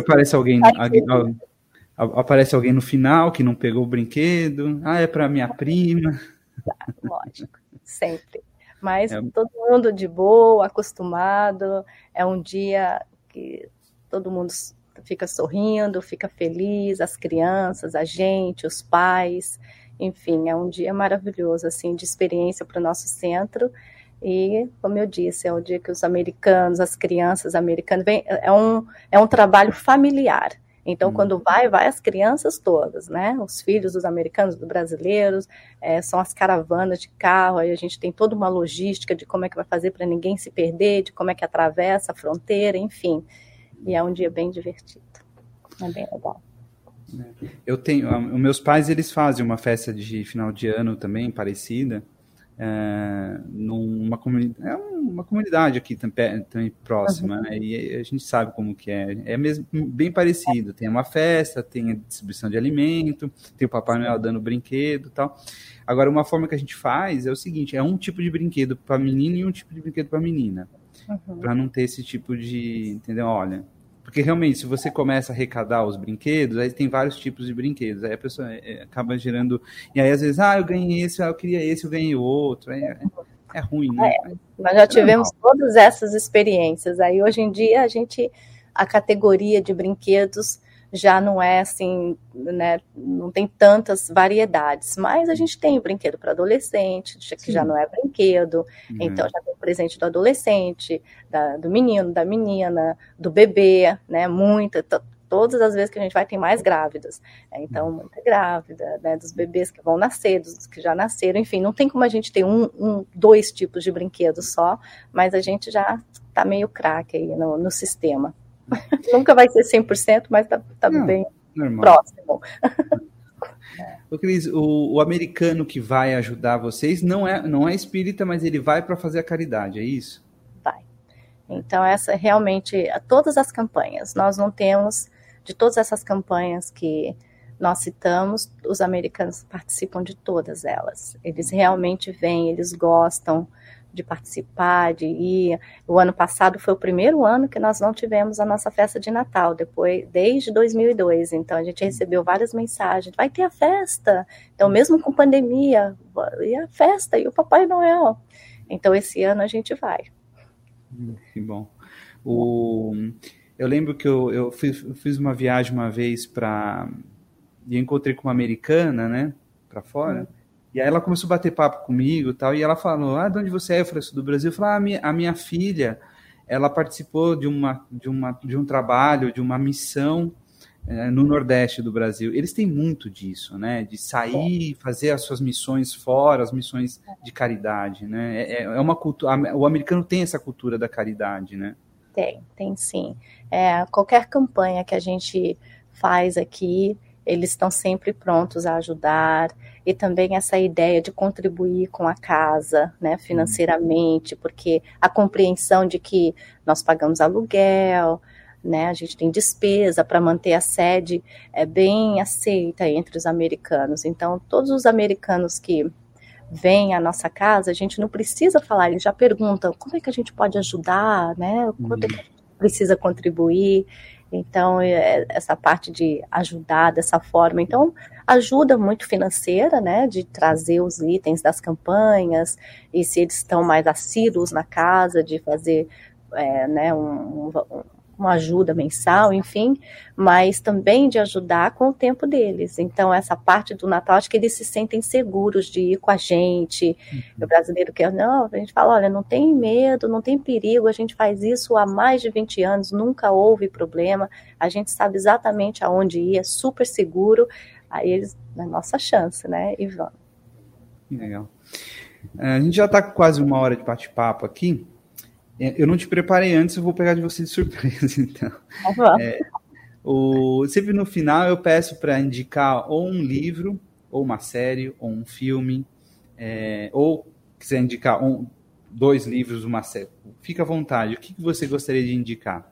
aparece alguém no final que não pegou o brinquedo. Ah, é para minha prima. Lógico, sempre. Mas todo mundo de boa, acostumado. É um dia que todo mundo fica sorrindo, fica feliz, as crianças, a gente, os pais, enfim, é um dia maravilhoso, assim, de experiência para o nosso centro, e, como eu disse, é o dia que os americanos, as crianças americanas, é um trabalho familiar, então, quando vai as crianças todas, né, os filhos dos americanos, dos brasileiros, são as caravanas de carro, aí a gente tem toda uma logística de como é que vai fazer para ninguém se perder, de como é que atravessa a fronteira, enfim. E é um dia bem divertido. É bem legal. Eu tenho, os meus pais, eles fazem uma festa de final de ano também, parecida, numa comunidade, uma comunidade aqui também próxima, né? E a gente sabe como que é mesmo bem parecido, tem uma festa, tem a distribuição de alimento, tem o Papai Noel dando brinquedo e tal. Agora, uma forma que a gente faz é o seguinte, é um tipo de brinquedo para menino e um tipo de brinquedo para menina, para não ter esse tipo de, entendeu? Olha, porque realmente, se você começa a arrecadar os brinquedos, aí tem vários tipos de brinquedos, aí a pessoa acaba gerando, e aí às vezes, eu ganhei esse, eu queria esse, eu ganhei outro, é ruim, né? Nós já tivemos todas essas experiências, aí hoje em dia a categoria de brinquedos já não é assim, né, não tem tantas variedades, mas a gente tem o brinquedo para adolescente, que já não é brinquedo, então já tem o presente do adolescente, do menino, da menina, do bebê, né, todas as vezes que a gente vai tem mais grávidas, então muita grávida, né, dos bebês que vão nascer, dos que já nasceram, enfim, não tem como a gente ter dois tipos de brinquedos só, mas a gente já tá meio craque aí no sistema. Nunca vai ser 100%, mas tá bem normal. Próximo. Ô, Cris, o americano que vai ajudar vocês não é espírita, mas ele vai para fazer a caridade, é isso? Vai. Então, essa realmente, todas as campanhas, nós não temos, de todas essas campanhas que nós citamos, os americanos participam de todas elas. Eles realmente vêm, eles gostam de participar, de ir. O ano passado foi o primeiro ano que nós não tivemos a nossa festa de Natal, desde 2002, então a gente recebeu várias mensagens, vai ter a festa, então mesmo com pandemia, e a festa, e o Papai Noel, então esse ano a gente vai. Que bom. Eu lembro que eu fiz uma viagem uma vez e encontrei com uma americana, né, para fora. E aí ela começou a bater papo comigo e tal, e ela falou, de onde você é? Eu falei, sou do Brasil. Eu falei, a minha filha, ela participou de um trabalho, de uma missão no Nordeste do Brasil. Eles têm muito disso, né? De sair, fazer as suas missões fora, as missões de caridade, né? É uma cultura, o americano tem essa cultura da caridade, né? Tem sim. Qualquer campanha que a gente faz aqui, eles estão sempre prontos a ajudar, e também essa ideia de contribuir com a casa, né, financeiramente, porque a compreensão de que nós pagamos aluguel, né, a gente tem despesa para manter a sede, é bem aceita entre os americanos. Então, todos os americanos que vêm à nossa casa, a gente não precisa falar, eles já perguntam como é que a gente pode ajudar, né, quanto é que a gente precisa contribuir. Então, essa parte de ajudar dessa forma, então, ajuda muito financeira, né, de trazer os itens das campanhas, e se eles estão mais assíduos na casa, de fazer, né, uma ajuda mensal, enfim, mas também de ajudar com o tempo deles. Então, essa parte do Natal, acho que eles se sentem seguros de ir com a gente. O brasileiro quer, não, a gente fala, olha, não tem medo, não tem perigo, a gente faz isso há mais de 20 anos, nunca houve problema, a gente sabe exatamente aonde ir, é super seguro, aí eles, é nossa chance, né, e vamos. Legal. A gente já está com quase 1 hora de bate-papo aqui. Eu não te preparei antes, eu vou pegar de você de surpresa, então. Sempre no final eu peço para indicar ou um livro, ou uma série, ou um filme, ou quiser indicar 2 livros, uma série. Fica à vontade. O que você gostaria de indicar?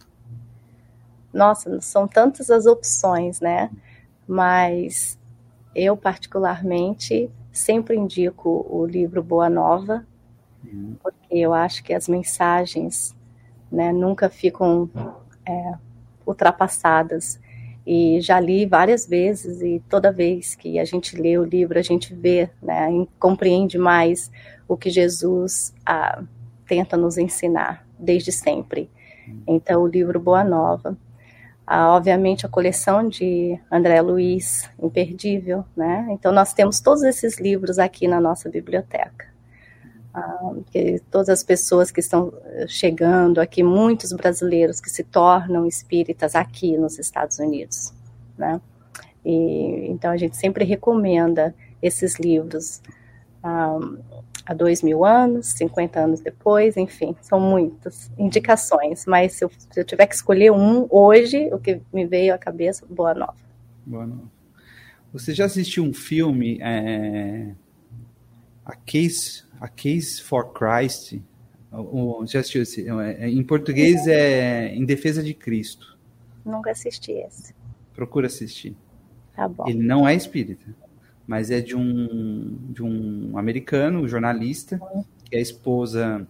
Nossa, são tantas as opções, né? Mas eu, particularmente, sempre indico o livro Boa Nova, porque eu acho que as mensagens, né, nunca ficam ultrapassadas. E já li várias vezes, e toda vez que a gente lê o livro, a gente vê, né, e compreende mais o que Jesus tenta nos ensinar desde sempre. Então, o livro Boa Nova. Obviamente, a coleção de André Luiz, imperdível, né? Então, nós temos todos esses livros aqui na nossa biblioteca. Que todas as pessoas que estão chegando aqui, muitos brasileiros que se tornam espíritas aqui nos Estados Unidos, né? Então a gente sempre recomenda esses livros há 2000 anos, 50 anos depois, enfim, são muitas indicações, mas se eu tiver que escolher um hoje, o que me veio à cabeça, Boa Nova. Boa noite. Você já assistiu um filme, A Case for Christ? Já assistiu esse? Em português é Em Defesa de Cristo. Nunca assisti esse. Procura assistir. Tá bom. Ele não é espírita, mas é de um americano, jornalista, que a esposa,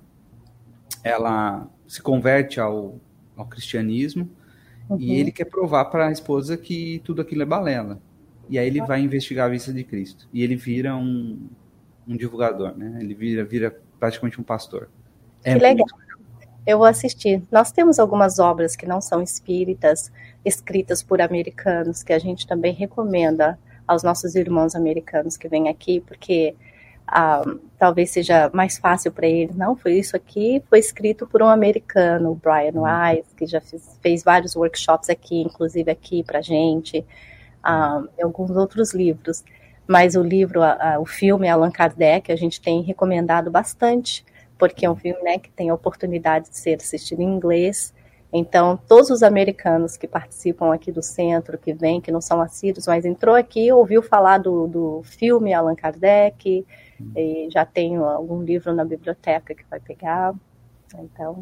ela se converte ao cristianismo, e ele quer provar para a esposa que tudo aquilo é balela. E aí ele vai investigar a vista de Cristo. E ele vira um divulgador, né? Ele vira praticamente um pastor. Que legal. Eu vou assistir. Nós temos algumas obras que não são espíritas, escritas por americanos, que a gente também recomenda aos nossos irmãos americanos que vêm aqui, porque talvez seja mais fácil para eles. Não, foi isso aqui, foi escrito por um americano, o Brian Weiss, que já fez vários workshops aqui, inclusive aqui para a gente, e alguns outros livros. Mas o livro, o filme Allan Kardec, a gente tem recomendado bastante, porque é um filme, né, que tem a oportunidade de ser assistido em inglês. Então, todos os americanos que participam aqui do centro, que vêm, que não são assíduos, mas entrou aqui, ouviu falar do filme Allan Kardec, e já tem algum livro na biblioteca que vai pegar. Então...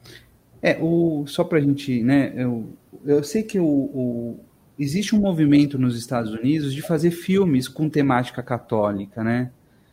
só para a gente, né, eu sei que existe um movimento nos Estados Unidos de fazer filmes com temática católica, né?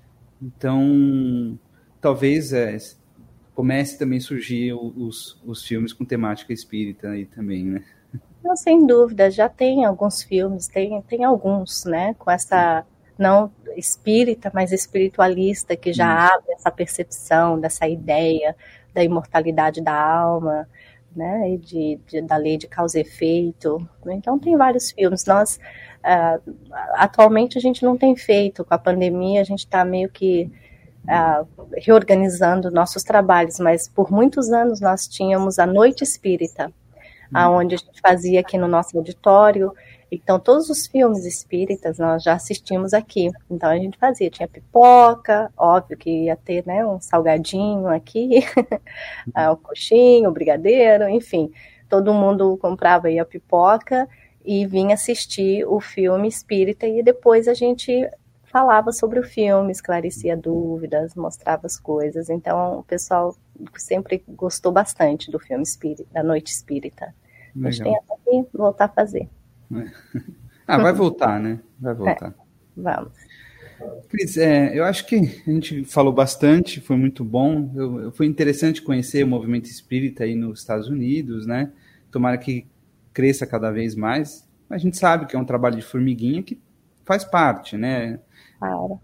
Então, talvez comece também a surgir os filmes com temática espírita aí também, né? Não, sem dúvida, já tem alguns filmes, tem alguns, né, com essa, não espírita, mas espiritualista, que já abre essa percepção dessa ideia da imortalidade da alma, né, e da lei de causa e efeito. Então tem vários filmes. Nós, atualmente a gente não tem feito, com a pandemia a gente está meio que reorganizando nossos trabalhos, mas por muitos anos nós tínhamos a Noite Espírita, onde a gente fazia aqui no nosso auditório. Então todos os filmes espíritas nós já assistimos aqui. Então a gente fazia, tinha pipoca, óbvio que ia ter, né, um salgadinho aqui, um coxinho, um brigadeiro, enfim, todo mundo comprava aí a pipoca e vinha assistir o filme espírita, e depois a gente falava sobre o filme, esclarecia dúvidas, mostrava as coisas. Então o pessoal sempre gostou bastante do filme espírita, da Noite Espírita. Legal. A gente tem até que voltar a fazer. Vai voltar, né? Vai voltar. Vamos. Cris, eu acho que a gente falou bastante, foi muito bom. Foi interessante conhecer o movimento espírita aí nos Estados Unidos, né? Tomara que cresça cada vez mais. A gente sabe que é um trabalho de formiguinha que faz parte, né? Claro.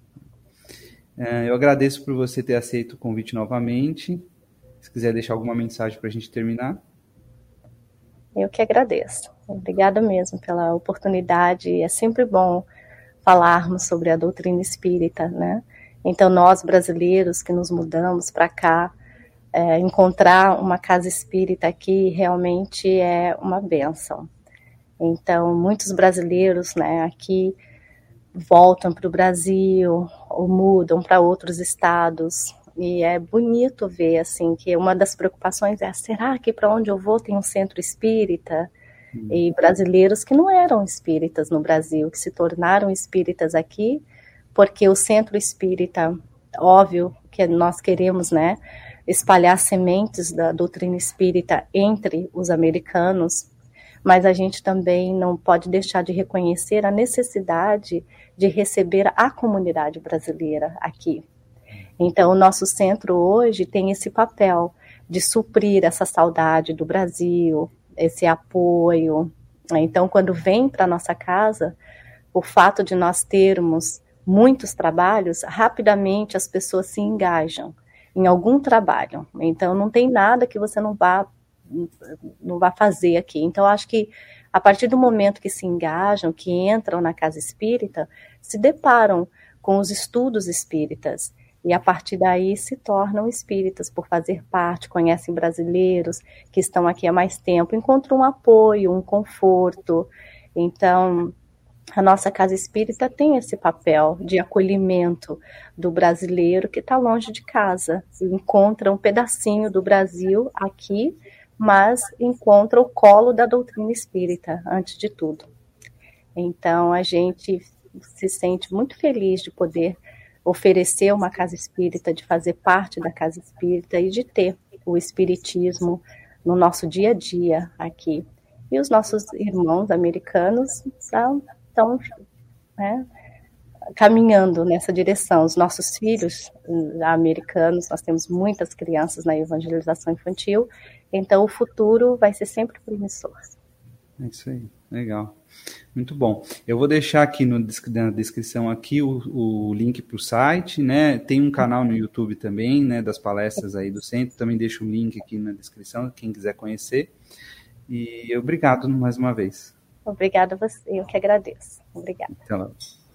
Eu agradeço por você ter aceito o convite novamente. Se quiser deixar alguma mensagem para a gente terminar. Eu que agradeço. Obrigada mesmo pela oportunidade. É sempre bom falarmos sobre a doutrina espírita, né? Então, nós brasileiros que nos mudamos para cá, encontrar uma casa espírita aqui realmente é uma bênção. Então, muitos brasileiros, né, aqui voltam para o Brasil ou mudam para outros estados. E é bonito ver, assim, que uma das preocupações é, será que para onde eu vou tem um centro espírita? E brasileiros que não eram espíritas no Brasil, que se tornaram espíritas aqui, porque o centro espírita, óbvio que nós queremos, né, espalhar sementes da doutrina espírita entre os americanos, mas a gente também não pode deixar de reconhecer a necessidade de receber a comunidade brasileira aqui. Então, o nosso centro hoje tem esse papel de suprir essa saudade do Brasil, esse apoio. Então, quando vem para a nossa casa, o fato de nós termos muitos trabalhos, rapidamente as pessoas se engajam em algum trabalho. Então, não tem nada que você não vá fazer aqui. Então, acho que a partir do momento que se engajam, que entram na casa espírita, se deparam com os estudos espíritas. E a partir daí se tornam espíritas por fazer parte, conhecem brasileiros que estão aqui há mais tempo, encontram um apoio, um conforto. Então, a nossa casa espírita tem esse papel de acolhimento do brasileiro que está longe de casa. Encontra um pedacinho do Brasil aqui, mas encontra o colo da doutrina espírita, antes de tudo. Então, a gente se sente muito feliz de poder oferecer uma casa espírita, de fazer parte da casa espírita e de ter o espiritismo no nosso dia a dia aqui. E os nossos irmãos americanos estão, né, caminhando nessa direção. Os nossos filhos americanos, nós temos muitas crianças na evangelização infantil, então o futuro vai ser sempre promissor. É isso aí, legal. Muito bom. Eu vou deixar aqui na descrição aqui o link para o site, né? Tem um canal no YouTube também, né? Das palestras aí do centro. Também deixo o link aqui na descrição, quem quiser conhecer. E obrigado mais uma vez. Obrigada a você, eu que agradeço. Obrigada. Até lá.